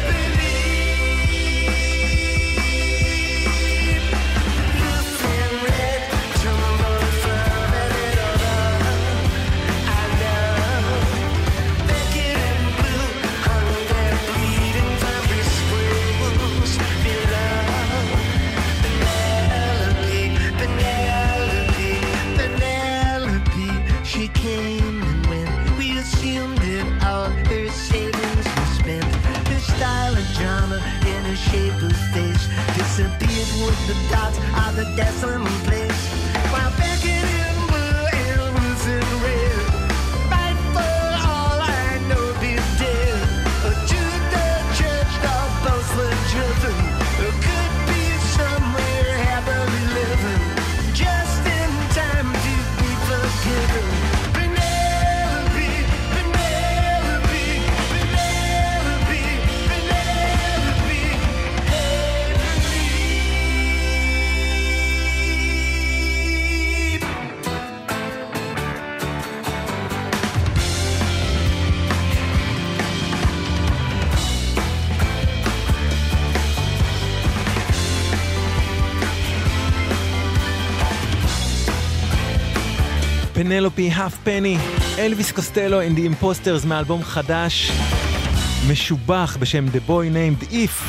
disappeared with the dots of the decimal place, while Beckett in blue and Ruth in red might for all I know be dead, or to the church of both were driven, or could be somewhere happily living, just in time to be forgiven. Penelope, Penelope, Penelope, Penelope, פנלופי האף פני, אלוויס קוסטלו and the Imposters מאלבום חדש משובח בשם The Boy Named If.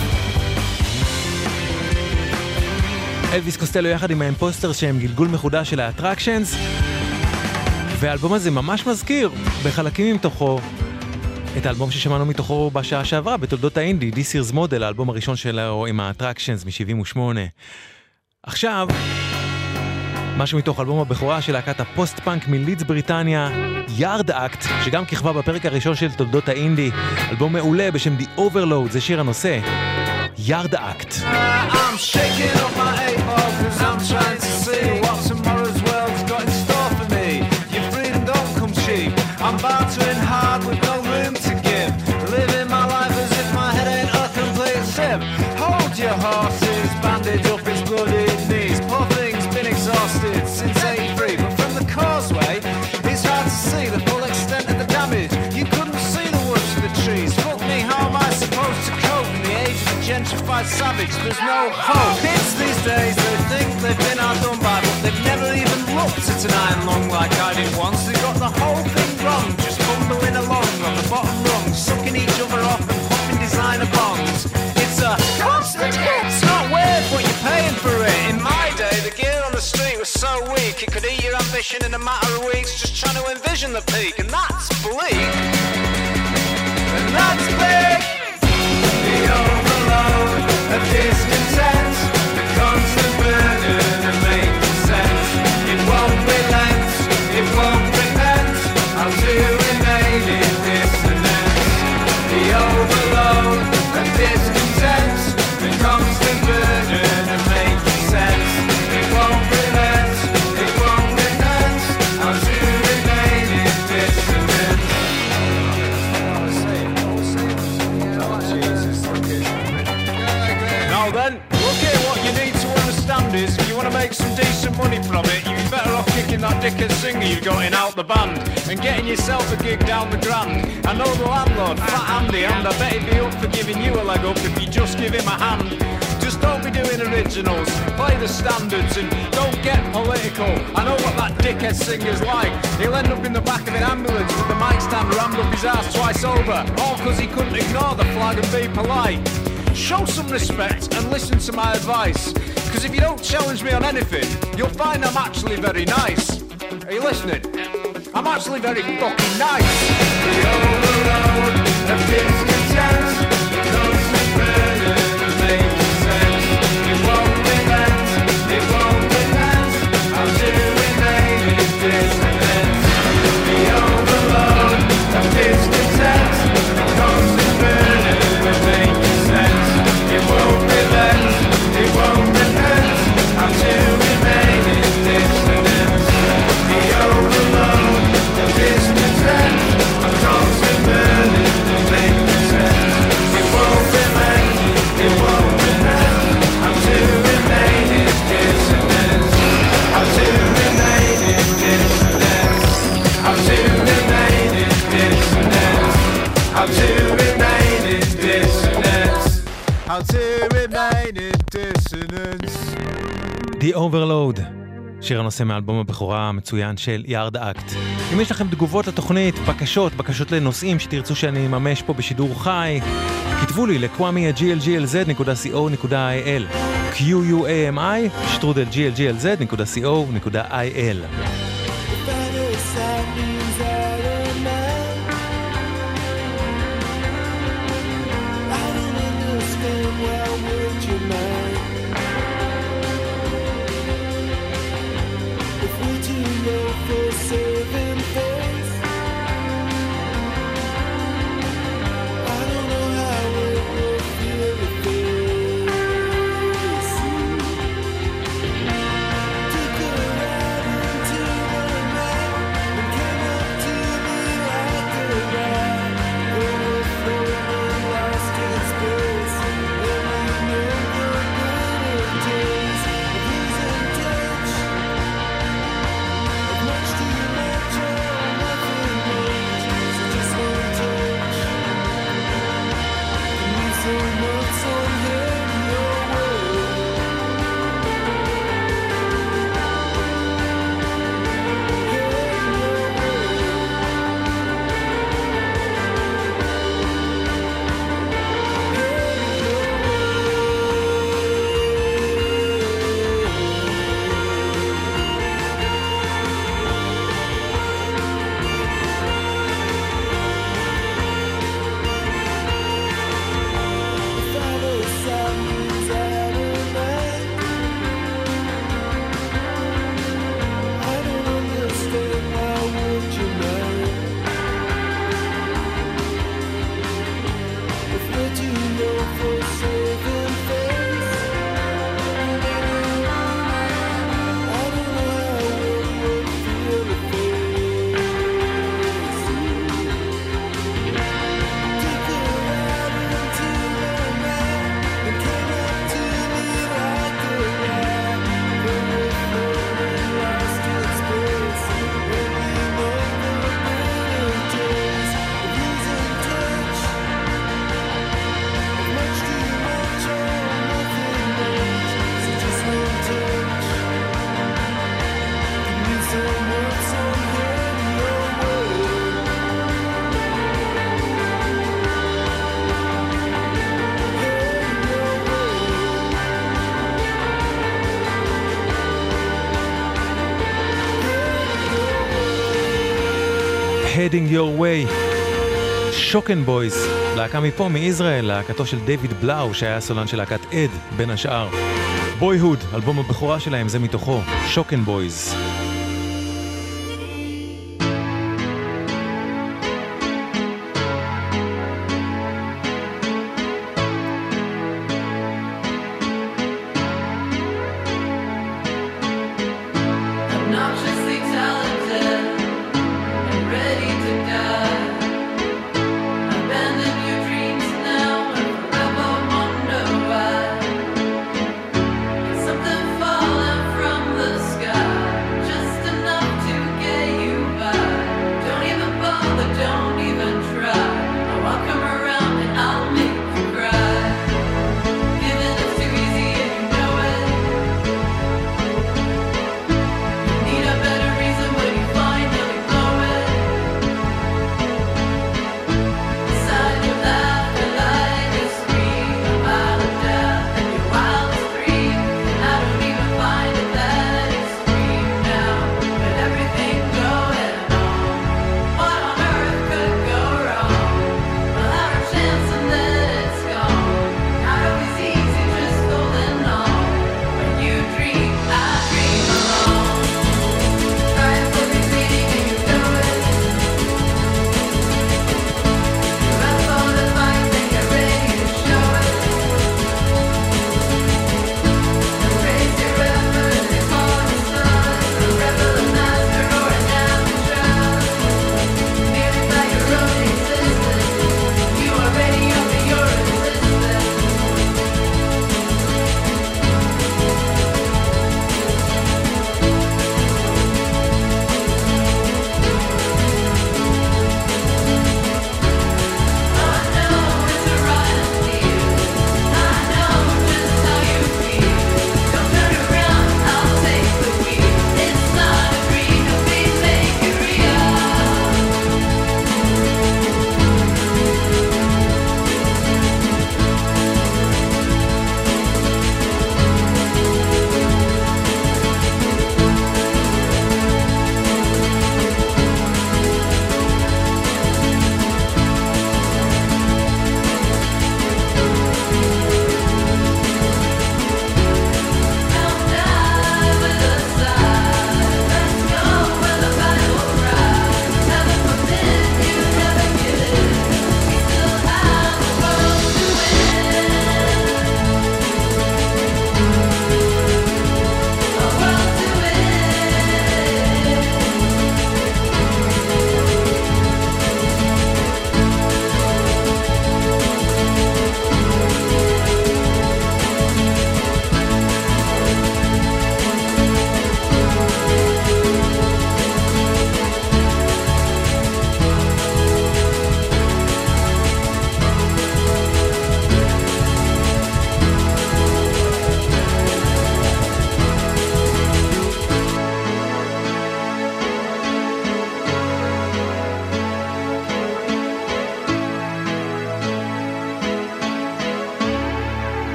אלוויס קוסטלו יחד עם האימפוסטרס שהם גלגול מחודש של האטרקשנס, והאלבום הזה ממש מזכיר בחלקים מתוכו את האלבום ששמענו מתוכו בשעה שעברה בתולדות האינדי, This Year's Model, האלבום הראשון שלו עם האטרקשנס מ-78. עכשיו משהו מתוך אלבום הבכורה של להקת הפוסט-פאנק מלידס בריטניה, יארד אקט, שגם כיכבה בפרק הראשון של תולדות האינדי, אלבום מעולה בשם The Overload, זה שיר הנושא, יארד אקט. I'm shaking on my 8-ball cause I'm trying to see what tomorrow's world's got in store for me. Your freedom don't come cheap, I'm bartering hard with no room to give, living my life as if my head ain't a complete sieve. Hold your horses, bandage up its bloody knees, poor thing's been exhausted since 83, but from the causeway it's hard to see the full extent of the damage. You couldn't see the woods for the trees. Fuck me, how am I supposed to cope in the age of the gentrified savage? There's no hope. Kids these days, they think they've been outdone by, but they've never even looked at an iron lung like I did once. They got the whole thing wrong, just bumbling along on the bottom rung, sucking each other off and popping designer bongs. It's a constant hit. It's not weird, but you're paying for it. In my day, the gear on the street was so weak it could eat your ambition in a matter of weeks. Just trying to envision the peak, and that's bleak. And that's big. The overload of discontent, the constant burden of making sense. It won't relent, it won't repent. How to remain in dissonance. The overload of discontent. money from it, you'd be better off kicking that dickhead singer you got in out the band and getting yourself a gig down the Grand. I know the landlord, Fat Andy, and I bet he'd be up for giving you a leg up if you just give him a hand. Just don't be doing originals, play the standards and don't get political. I know what that dickhead singer's like. He'll end up in the back of an ambulance with the mic stand rammed up his ass twice over, all because he couldn't ignore the flag and be polite. Show some respect and listen to my advice, because if you don't challenge me on anything, you'll find I'm actually very nice. Are you listening? I'm actually very fucking nice. The overload of discontent, the constant burden of making sense. It won't relent, it won't relent. I'm doing native dissonance. The overload of discontent, the constant burden of making sense. It won't relent, it won't relent. I'm doing native dissonance. The overload of discontent, the constant burden of making sense. It won't relent, it won't relent. I'm doing native dissonance. I'm doing native dissonance. I'm doing native dissonance. I'm doing native dissonance. I'm doing native dissonance. The Overload, שיר הנושא מאלבום הבכורה המצוין של יארד אקט. אם יש לכם תגובות לתוכנית, בקשות לנושאים שתרצו שאני אממש פה בשידור חי, כתבו לי ל-kwami@glglz.co.il QUAMI@glglz.co.il. Heading Your Way, שוקן בויז, להקה מפה מישראל, להקתו של דיוויד בלאו שהיה הסולן של להקת עד בין השאר. בויהוד, אלבום הבכורה שלהם, זה מתוכו, שוקן בויז. Something falling from the sky.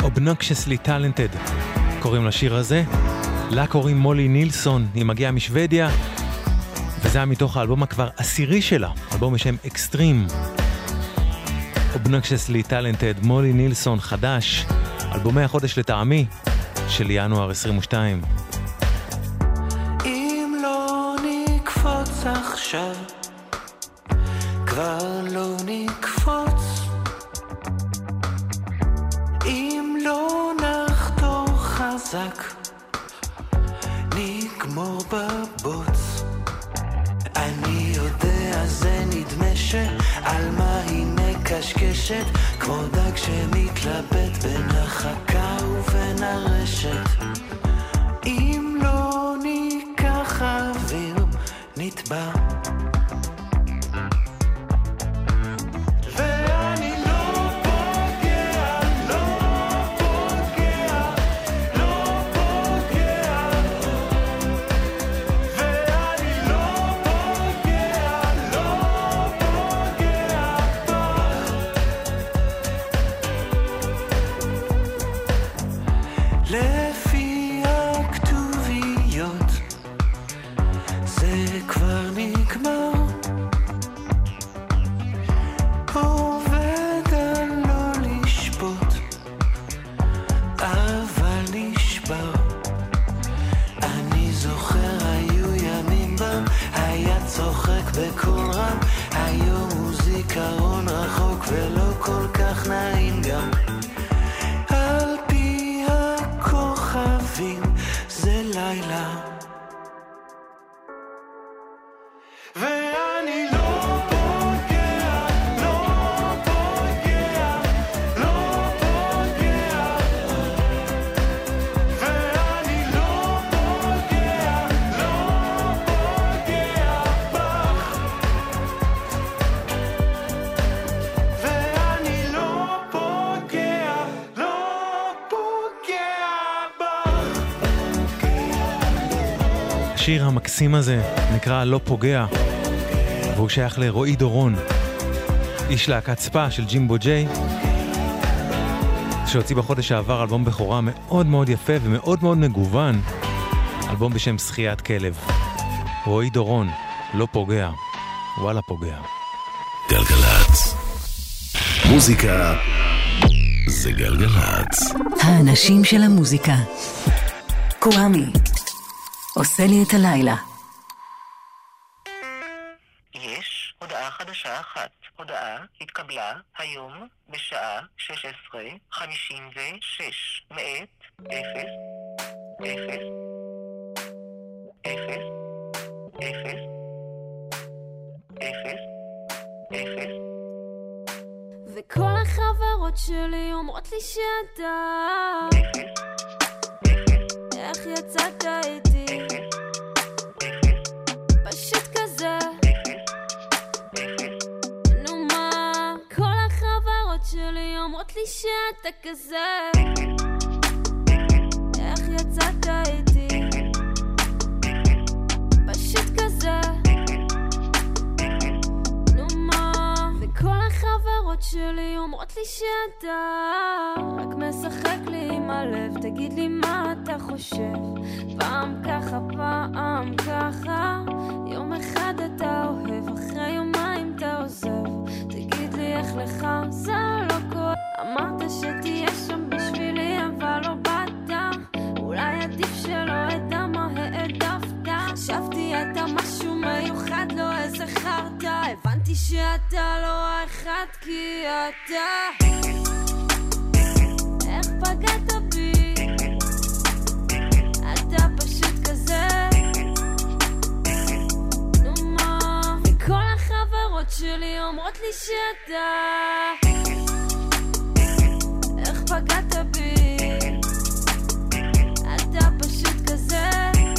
Obnoxiously Talented קוראים לשיר הזה. לה קוראים מולי נילסון, היא מגיעה משוודיה, וזה היה מתוך האלבום כבר עשירי שלה, אלבום בשם אקסטרים. Obnoxiously Talented, מולי נילסון חדש, אלבומי החודש לטעמי של ינואר 22. אם לא נקפוץ עכשיו, כבר לא נקפוץ. אם לא נחתור חזק, נגמור בבוץ. אני יודע זה נדמה שעל מה היא מקשקשת, כמו דג שמתלבט בין החכה ובין הרשת. אם לא ניקח אוויר נטבע. לפי הכתוביות זה כבר נגמר, עובד על לא לשפוט אבל נשבר. אני זוכר היו ימים בם היה צוחק בקול רם, היום הוא זיכרון רחוק ולא כל כך נעים גם. זה לילה ואני לא פוגע, לא פוגע, לא פוגע, ואני לא פוגע, לא פוגע בך, ואני לא פוגע, לא פוגע בך. השיר המקסים הזה נקרא לא פוגע, והוא שייך לרועי דורון, איש להקת ספה של ג'ימבו ג'יי, שהוציא בחודש העבר אלבום בכורה מאוד מאוד יפה ומאוד מאוד מגוון, אלבום בשם שחיית כלב. רועי דורון, לא פוגע, וואלה פוגע. גלגלצ, מוזיקה זה גלגלצ. האנשים של המוזיקה. קוואמי עושה לי את הלילה. יש הודעה חדשה אחת. הודעה התקבלה היום בשעה 16:56 מאת 0 0 0 0 0 0. וכל החברות שלי אומרות לי שאתה איך יצאת איתי פשוט כזה. נו מה, כל החברות שלי אומרות לי שאתה כזה איך יצאת איתי פשוט כזה. נו מה, וכל החברות שלי אומרות לי שאתה רק משחק לי עם הלב. תגיד לי מה אתה חושב, פעם ככה פעם ככה, יום אחד אתה אוהב אחרי יומיים אתה עוזב. תגיד לי איך לך זה לא קורה, אמרת שתהיה שם בשבילי אבל לא באת, אולי עדיף שלא אדע מה העדפת. חשבתי אתה משהו מיוחד לא איזה חרטה, הבנתי שאתה לא האחד כי אתה איך פגעת בי, אתה פשוט כזה. נו מה, וכל החברות שלי אומרות לי שאתה איך פגעת בי, אתה פשוט כזה.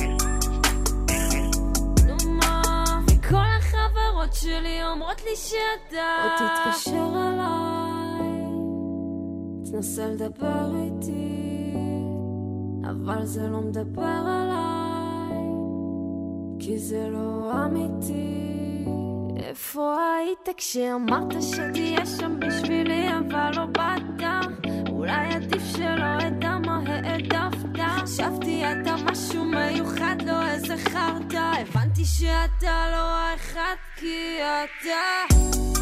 נו מה, וכל החברות שלי אומרות לי שאתה או תתקשר אליי, תנסה לדבר איתי, אבל זה לא מדבר עליי, כי זה לא אמיתי. איפה היית כשאמרת שתהיה שם בשבילי אבל לא באת, אולי עדיף שלא שאתה לא האחד כי אתה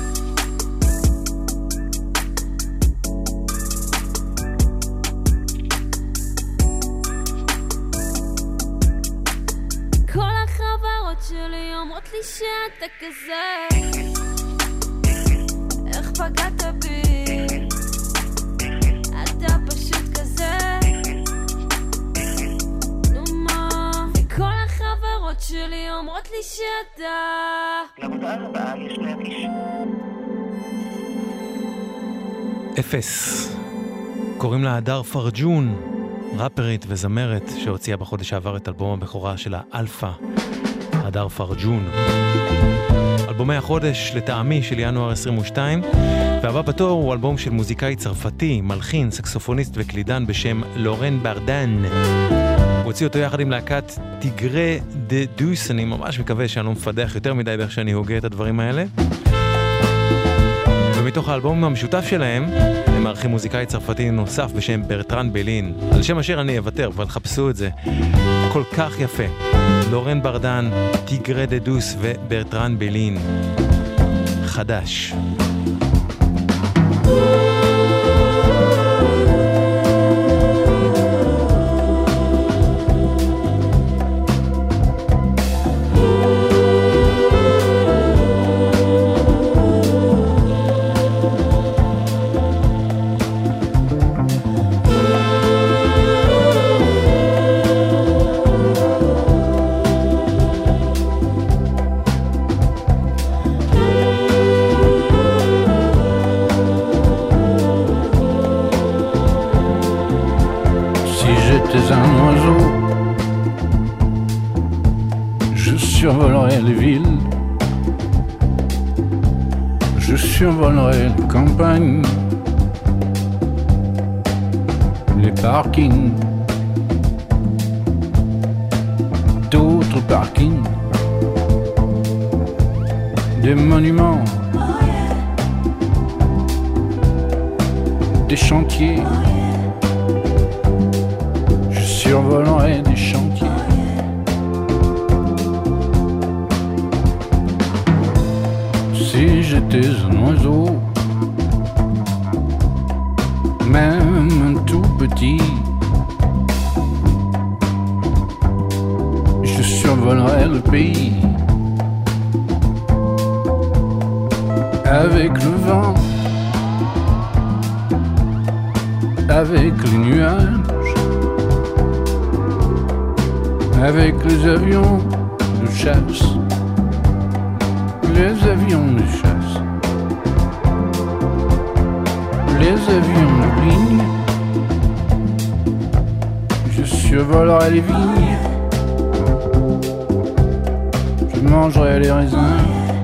כל החברות שלי אומרות לי שאתה כזה איך פגעת בי אתה פשוט כזה נו מה וכל החברות שלי אומרות לי שאתה למודעה הבאה יש להגיש 0 קוראים לה הדר פרג'ון, ראפרית וזמרת שהוציאה בחודש העבר את אלבום הבכורה שלה אלפא. הדר פרג'ון, אלבומי החודש לטעמי של ינואר 22, והבא בתור הוא אלבום של מוזיקאי צרפתי, מלחין, סקסופוניסט וקלידן בשם לורן ברדן. הוא הוציא אותו יחד עם להקת טיגרה דה דוס, אני ממש מקווה שאני לא מפדח יותר מדי באיך שאני הוגה את הדברים האלה. ומתוך האלבום המשותף שלהם הם מארחים מוזיקאי צרפתי נוסף בשם ברטרן בלין, על שם אשר אני אוותר, אבל חפשו את זה, כל כך יפה. לורן ברדן, טיגרה דה דוס וברטרן בלין, חדש. Un oiseau, je survolerai les villes, je survolerai les campagnes, les parkings, d'autres parkings, des monuments, des chantiers. Survolerai des chantiers. Si j'étais un oiseau, même un tout petit, je survolerai le pays avec le vent, avec les nuages, avec les avions de chasse, les avions de chasse, les avions de ligne, je survolerai les vignes, je mangerai les raisins,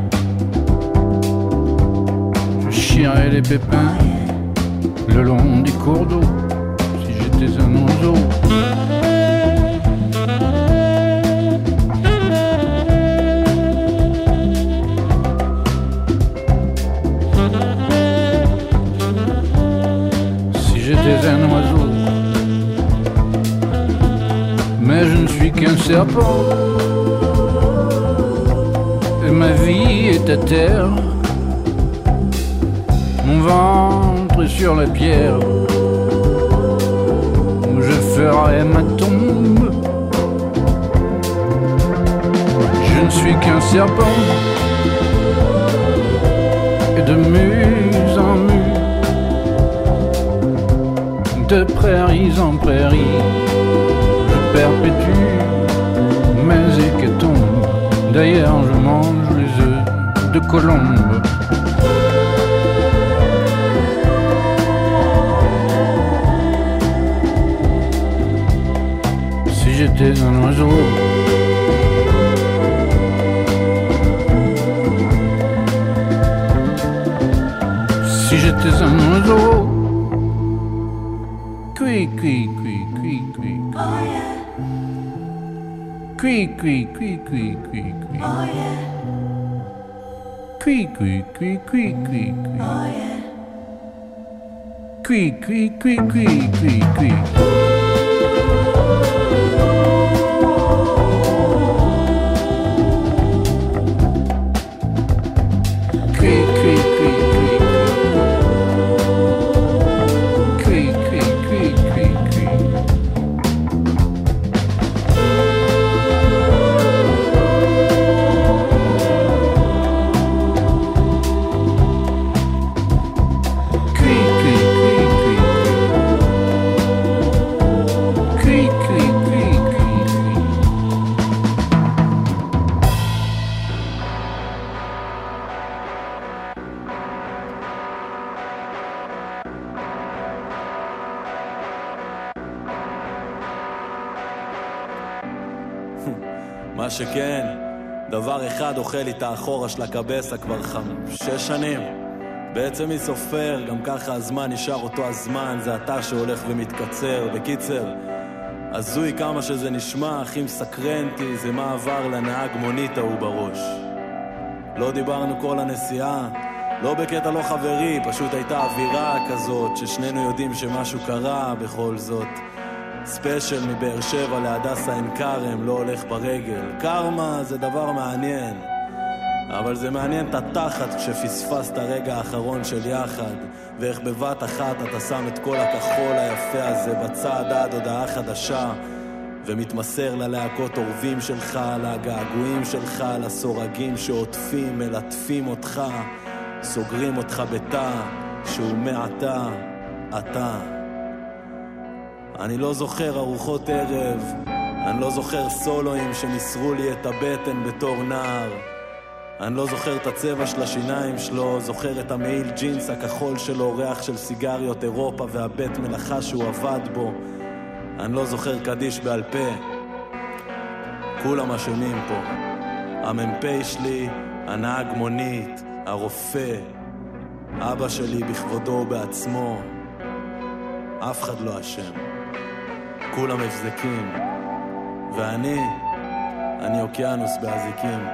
je chierai les pépins le long des cours d'eau, si j'étais un oiseau. J'étais un oiseau, mais je ne suis qu'un serpent, et ma vie est à terre, mon ventre est sur la pierre, où je ferai ma tombe. Je ne suis qu'un serpent, et de muse en muse, de prairies en prairies, je perpétue mes hécatombes. D'ailleurs, je mange les œufs de colombe. Si j'étais un oiseau, si j'étais un oiseau, Cui, cui, cui, cui, cui. Oh yeah. Cui, cui, cui, cui, cui, cui. Oh yeah. Cui, cui, cui, cui, cui, cui. Oh yeah. Cui, cui, cui, cui, cui, cui. מה שכן, דבר אחד אוכל לי את האחורה של הקבסה כבר 6 שנים. בעצם מי סופר, גם ככה הזמן נשאר אותו הזמן, זה אתה שהולך ומתקצר. בקיצר, הזוי כמה שזה נשמע, הכי מסקרנטי זה מה עבר לנהג מונית ההוא בראש. לא דיברנו כל הנסיעה, לא בקטע לא חברי, פשוט הייתה אווירה כזאת ששנינו יודעים שמשהו קרה בכל זאת. ספיישל מבאר שבע להדסה עין כרם, לא הולך ברגל. קרמה זה דבר מעניין, אבל זה מעניין את התחת כשפספסת הרגע האחרון של יחד, ואיך בבת אחת אתה שם את כל הכחול היפה הזה בצד עד הודעה חדשה, ומתמסר ללהקות אורבים שלך, לגעגועים שלך, לסורגים שעוטפים, מלטפים אותך, סוגרים אותך בתא שהוא מעתה אתה. אני לא זוכר ארוחות ערב, אני לא זוכר סולואים שניסרו לי את הבטן בתור נער, אני לא זוכר את הצבע של השיניים שלו, זוכר את המעיל ג'ינס הכחול שלו, ריח של סיגריות אירופה והבית מלאכה שהוא עבד בו. אני לא זוכר קדיש בעל פה. כולם אשמים פה, המ"פ שלי, הנהג מונית, הרופא, אבא שלי בכבודו בעצמו. אף אחד לא אשם, כולם מבזקים, ואני אוקיינוס באזיקים.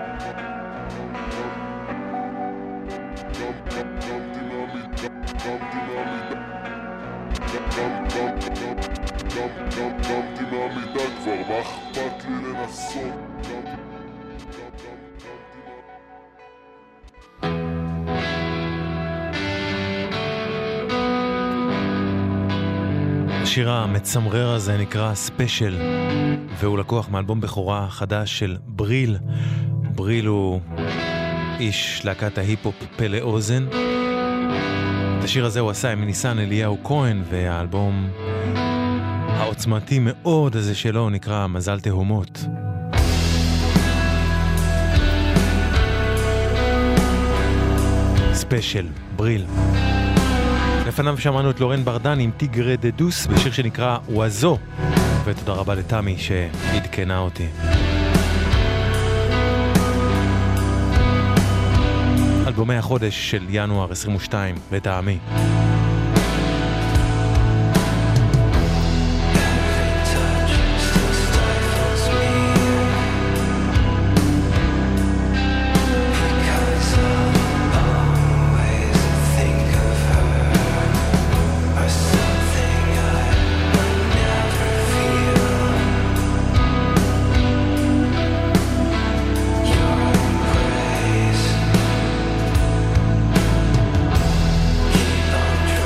קמתי מהמיטה כבר, מה אכפת לי לנסות? השיר המצמרר הזה נקרא ספיישל, והוא לקוח מאלבום בכורה חדש של בריל. בריל הוא איש להקת ההיפ-הופ פלא אוזן. את השיר הזה הוא עשה עם ניסן אליהו כהן, והאלבום העוצמתי מאוד הזה שלו נקרא מזל תהומות. ספיישל, בריל. לפניו שמענו את לורן ברדן עם טיגרה דדוס בשיר שנקרא ווזו, ותודה רבה לתמי שעדכנה אותי. אלבומי החודש של ינואר 22 לטעמי. Keep on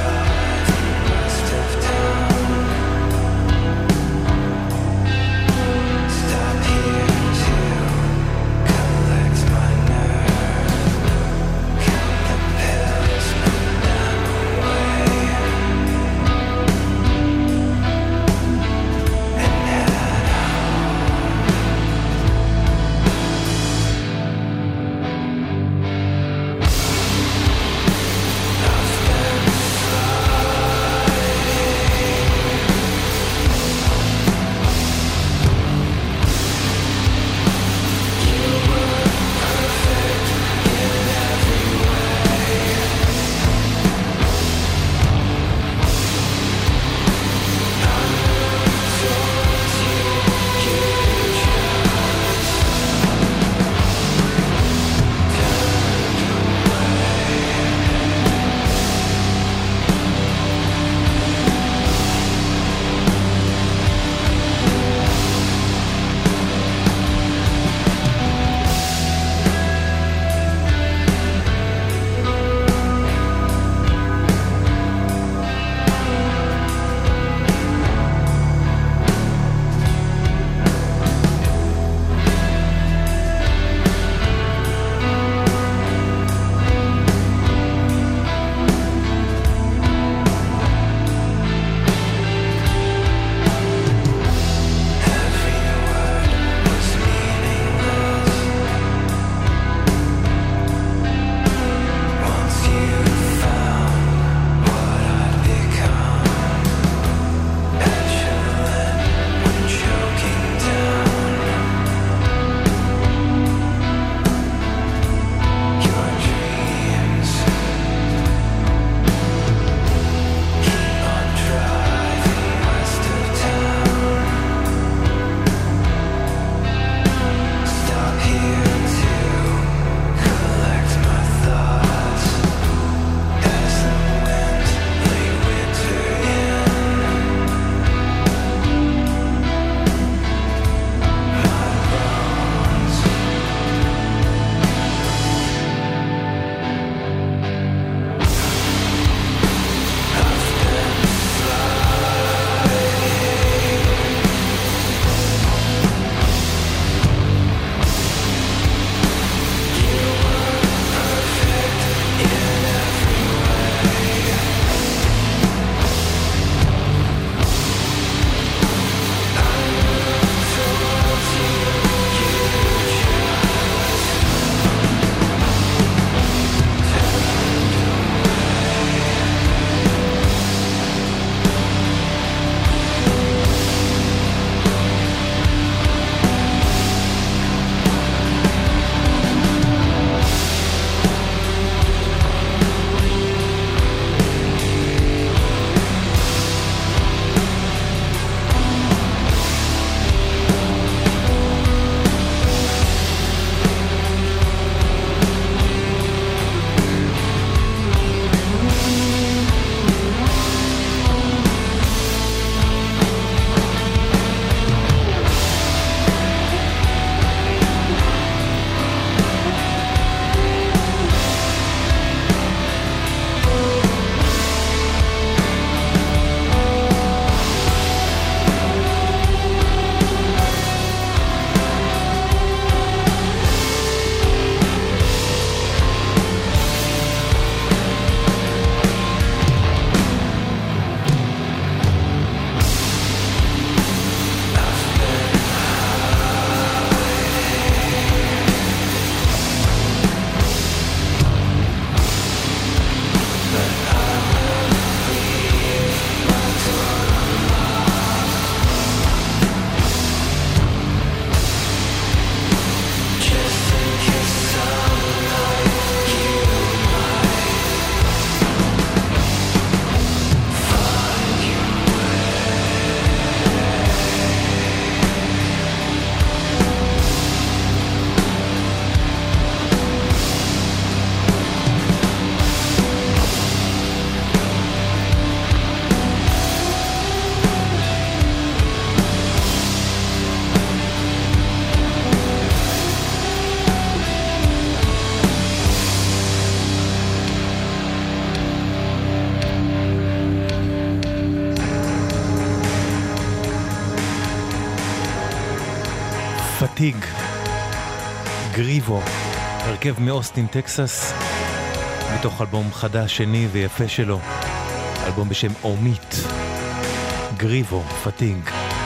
פטיג, גריבו, הרכב מאוסטין טקסס, מתוך אלבום חדש שני ויפה שלו, אלבום בשם אומית, גריבו, פטיג.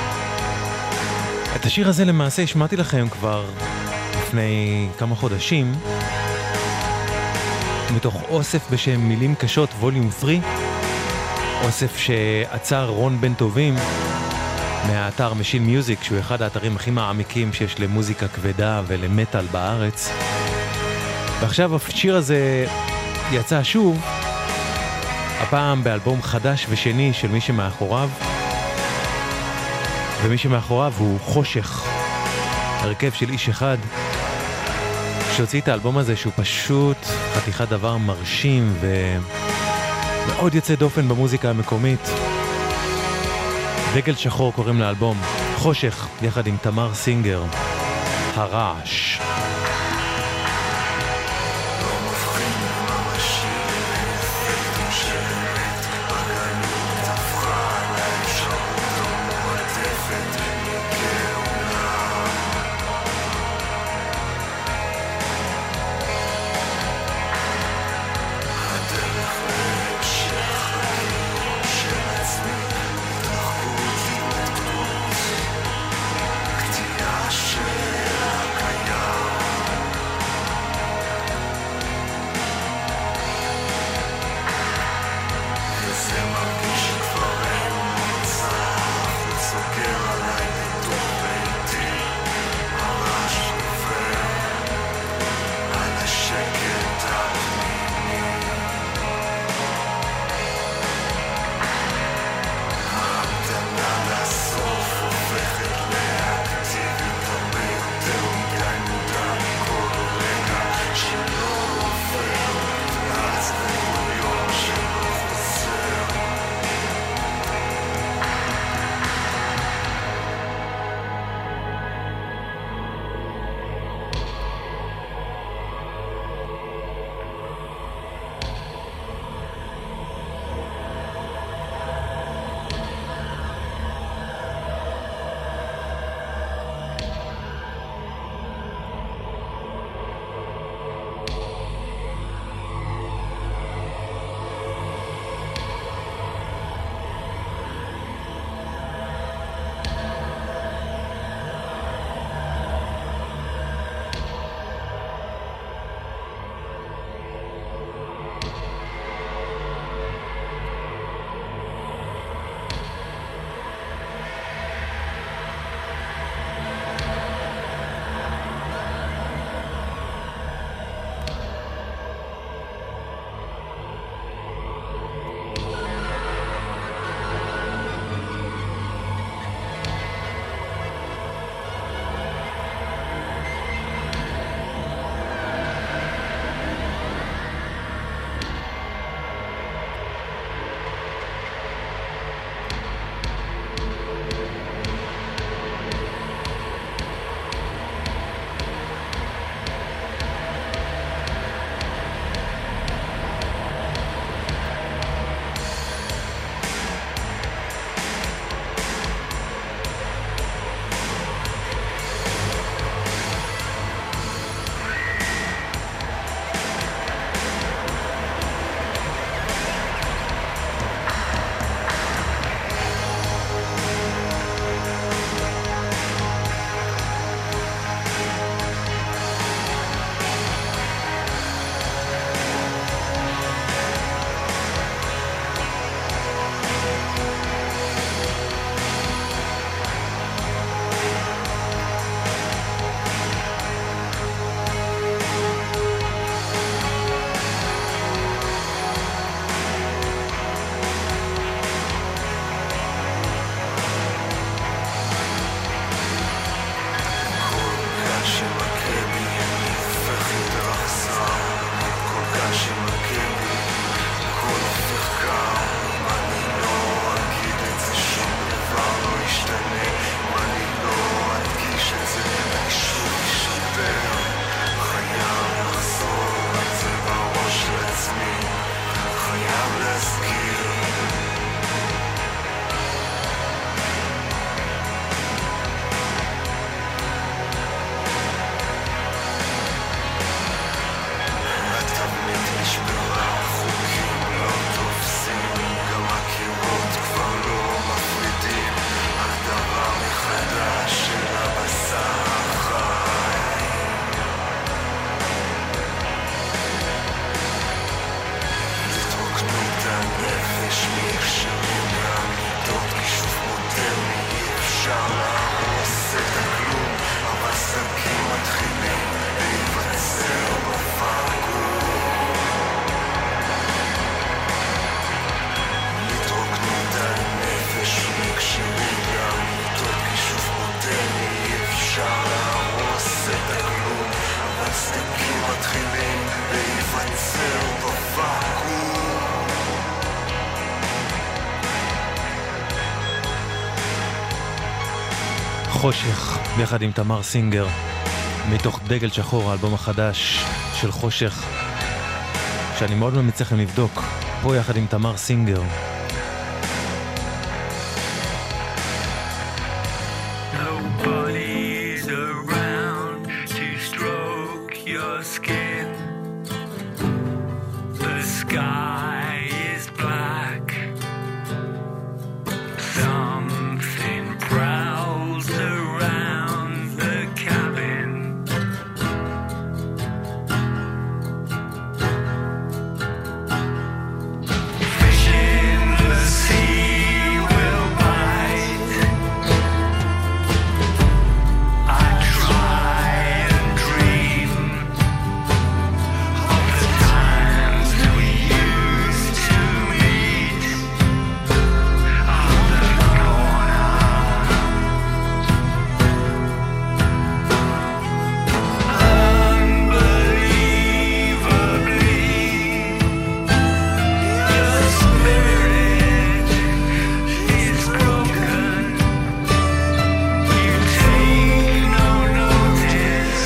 את השיר הזה למעשה השמעתי לכם כבר לפני כמה חודשים, מתוך אוסף בשם מילים קשות ווליום 3, אוסף שעצר רון בן טובים מהאתר משין מיוזיק, שהוא אחד האתרים הכי מעמיקים שיש למוזיקה כבדה ולמטל בארץ. ועכשיו השיר הזה יצא שוב, הפעם באלבום חדש ושני של מי שמאחוריו, ומי שמאחוריו הוא חושך, הרכב של איש אחד שהוציא את האלבום הזה, שהוא פשוט חתיכת דבר מרשים ומאוד יוצא דופן במוזיקה המקומית. דגל שחור קוראים לאלבום, חושך יחד עם תמר סינגר, הרעש. קטיעה של הקיים חושך, ביחד עם תמר סינגר, מתוך דגל שחור, האלבום החדש של חושך, שאני מאוד ממליץ לכם לבדוק, פה יחד עם תמר סינגר. Nobody's around to stroke your skin. The sky is black. Something prowls around the cabin. Fish in the sea will bite. I try and dream of the times we used to meet on the corner. Unbelievably, your spirit is broken. You take no notice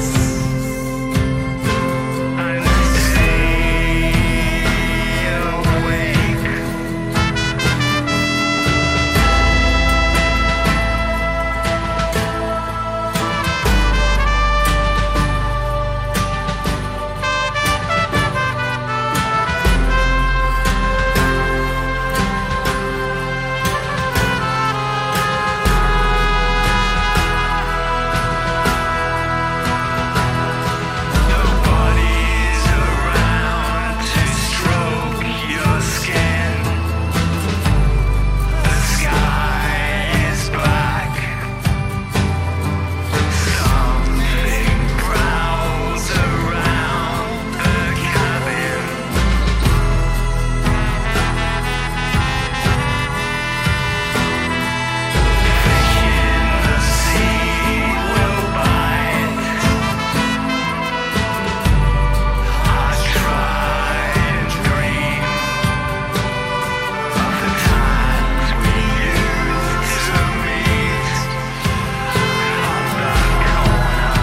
and stay awake. Nobody's around to stroke your skin. The sky is black. Something prowls around the cabin. Fish in the sea will bite. I try and dream of the times we used to meet on the corner.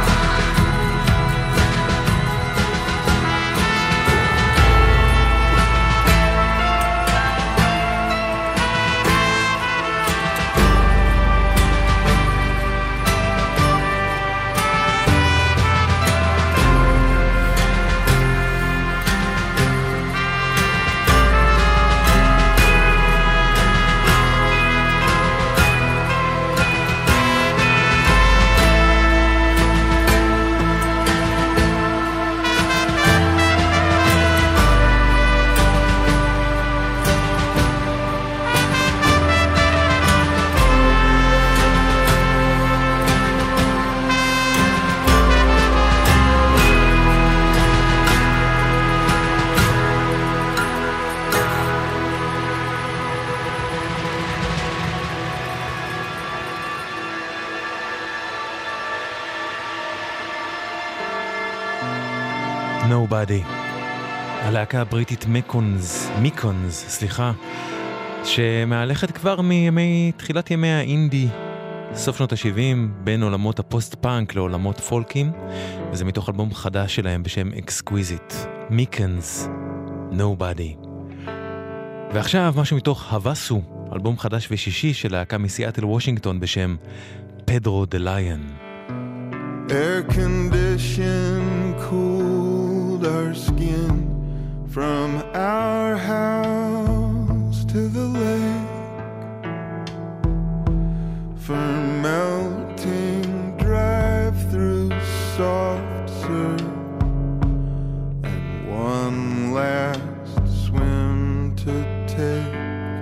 Nobody. הלהקה הבריטית מיקונס, שמהלכת כבר תחילת ימי האינדי, סוף שנות ה-70, בין עולמות הפוסט-פאנק לעולמות פולקים, וזה מתוך אלבום חדש שלהם בשם Exquisite. מיקונס, Nobody. ועכשיו משהו מתוך הווסו, אלבום חדש ושישי של להקה מסיאטל וושינגטון בשם פדרו דה ליון. Air condition cooled our skin from our house to the lake, for melting drive-through soft serve and one last swim to take.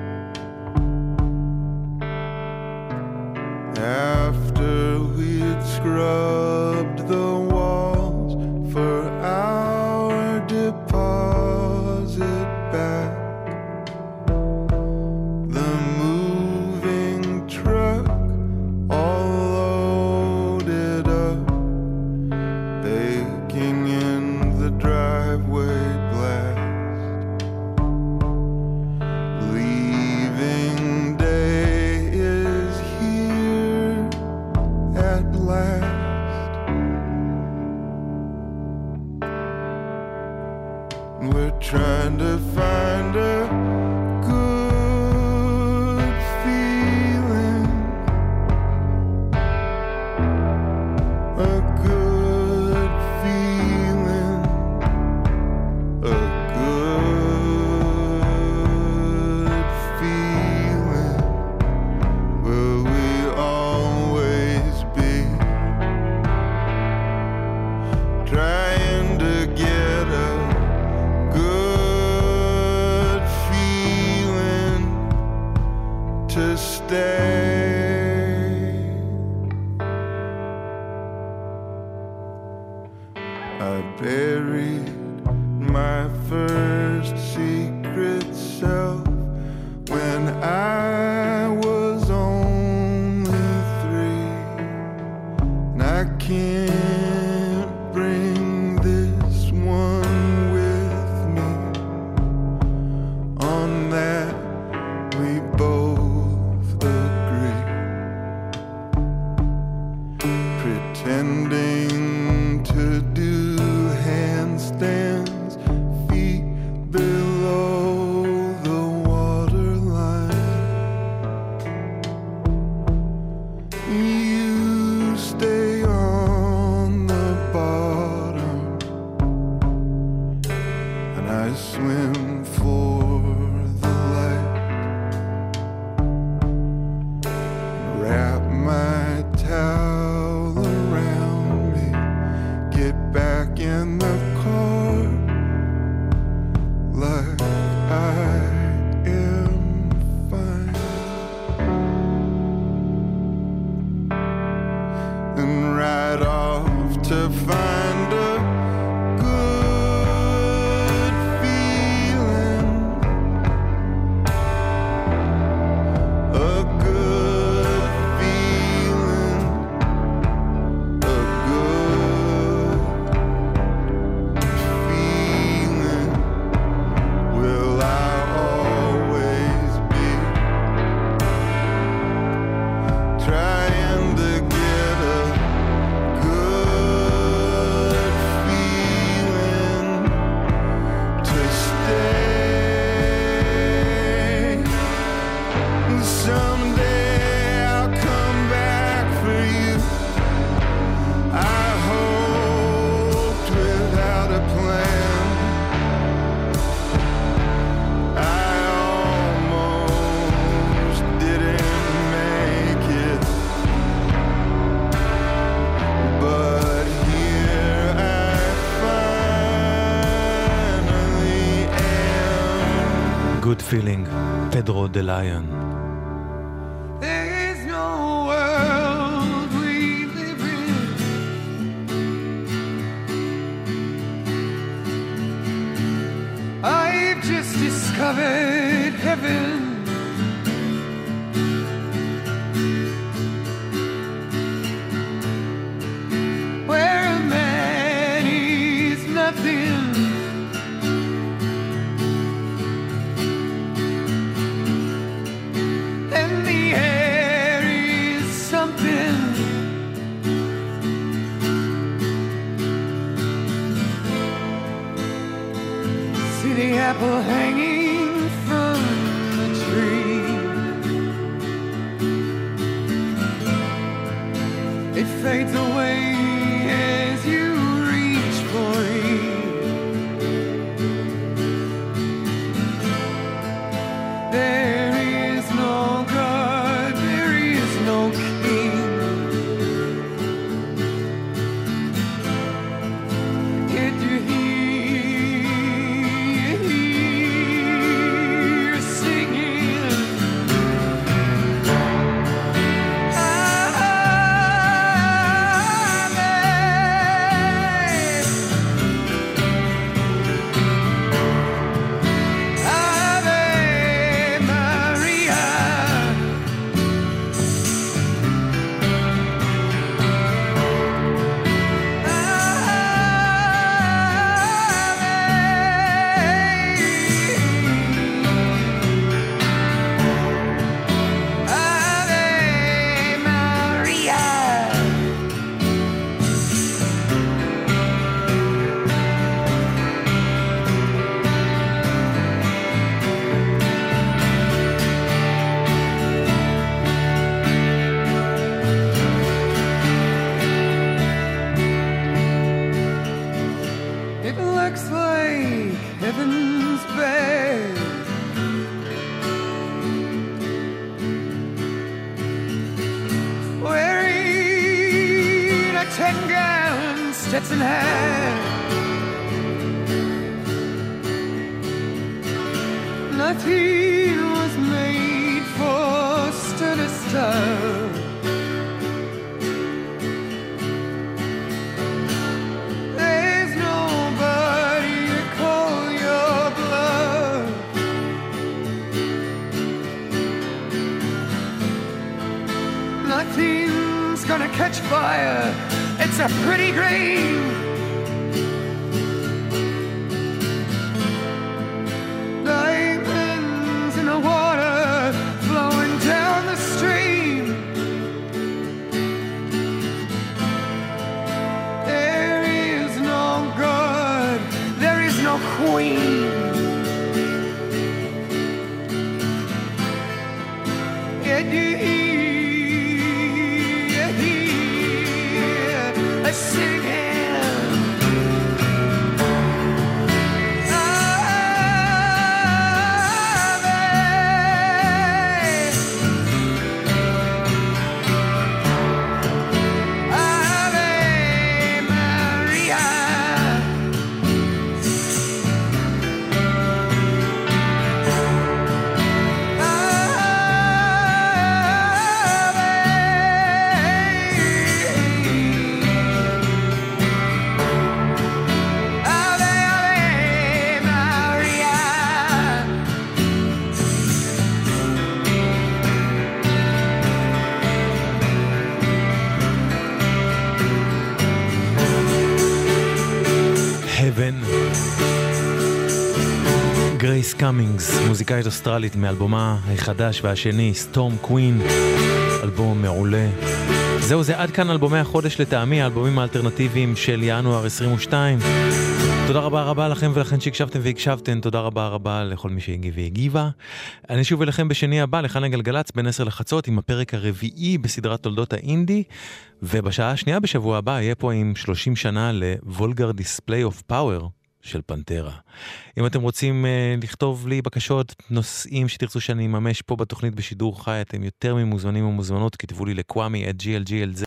After we'd scrubbed the walls for our deposit back, the moving truck all loaded up, baking in the driveway blast. Leaving day is here. to stay. I buried my first secret self when I was only 3, and I can't bring this one with me. On that we both agree, pretending to do handstands feet below the waterline. You stay on the bottom, and I swim for the light. Wrap my towel around me, get back in the car like I am fine, and ride off to find a good feeling, a good feeling, a good feeling. Will I always be trying to get a good feeling to stay? Someday I'll come back for you, I hoped, without a plan. I almost didn't make it, but here I finally am. Good feeling, פדרו דה ליון. There is no world we live in I've just discovered heaven. Where a man is nothing, and the air is something. See the apple hanging from the tree. It fades away as you reach for it. There is no God, there is no king. Yet you hear singing. Stetson hat. Nothing was made for blood. There's nobody to call your blood. Nothing's gonna catch fire. It's a pretty green. Diamonds in the water flowing down the stream. There is no God, there is no queen. Yet you hear a singing. גרייס קאמינגס, מוזיקאית אוסטרלית מאלבומה החדש והשני, סטורם קווין, אלבום מעולה. זהו, זה עד כאן אלבומי החודש לטעמי, האלבומים האלטרנטיביים של ינואר 22. תודה רבה רבה לכם ולכן שהקשבתם והקשבתם, תודה רבה רבה לכל מי שהגיב והגיבה. אני שוב אליכם בשני הבא, לכאן הגלגלץ בין 10 לחצות עם הפרק הרביעי בסדרת תולדות האינדי, ובשעה השנייה בשבוע הבא יהיה פה עם 30 שנה ל-Vulgar Display of Power של פנטרה. אם אתם רוצים לכתוב לי בקשות, נושאים שתרצו שאני אממש פה בתוכנית בשידור חי, אתם יותר ממוזמנים ומוזמנות, כתבו לי לקוואמי@glglz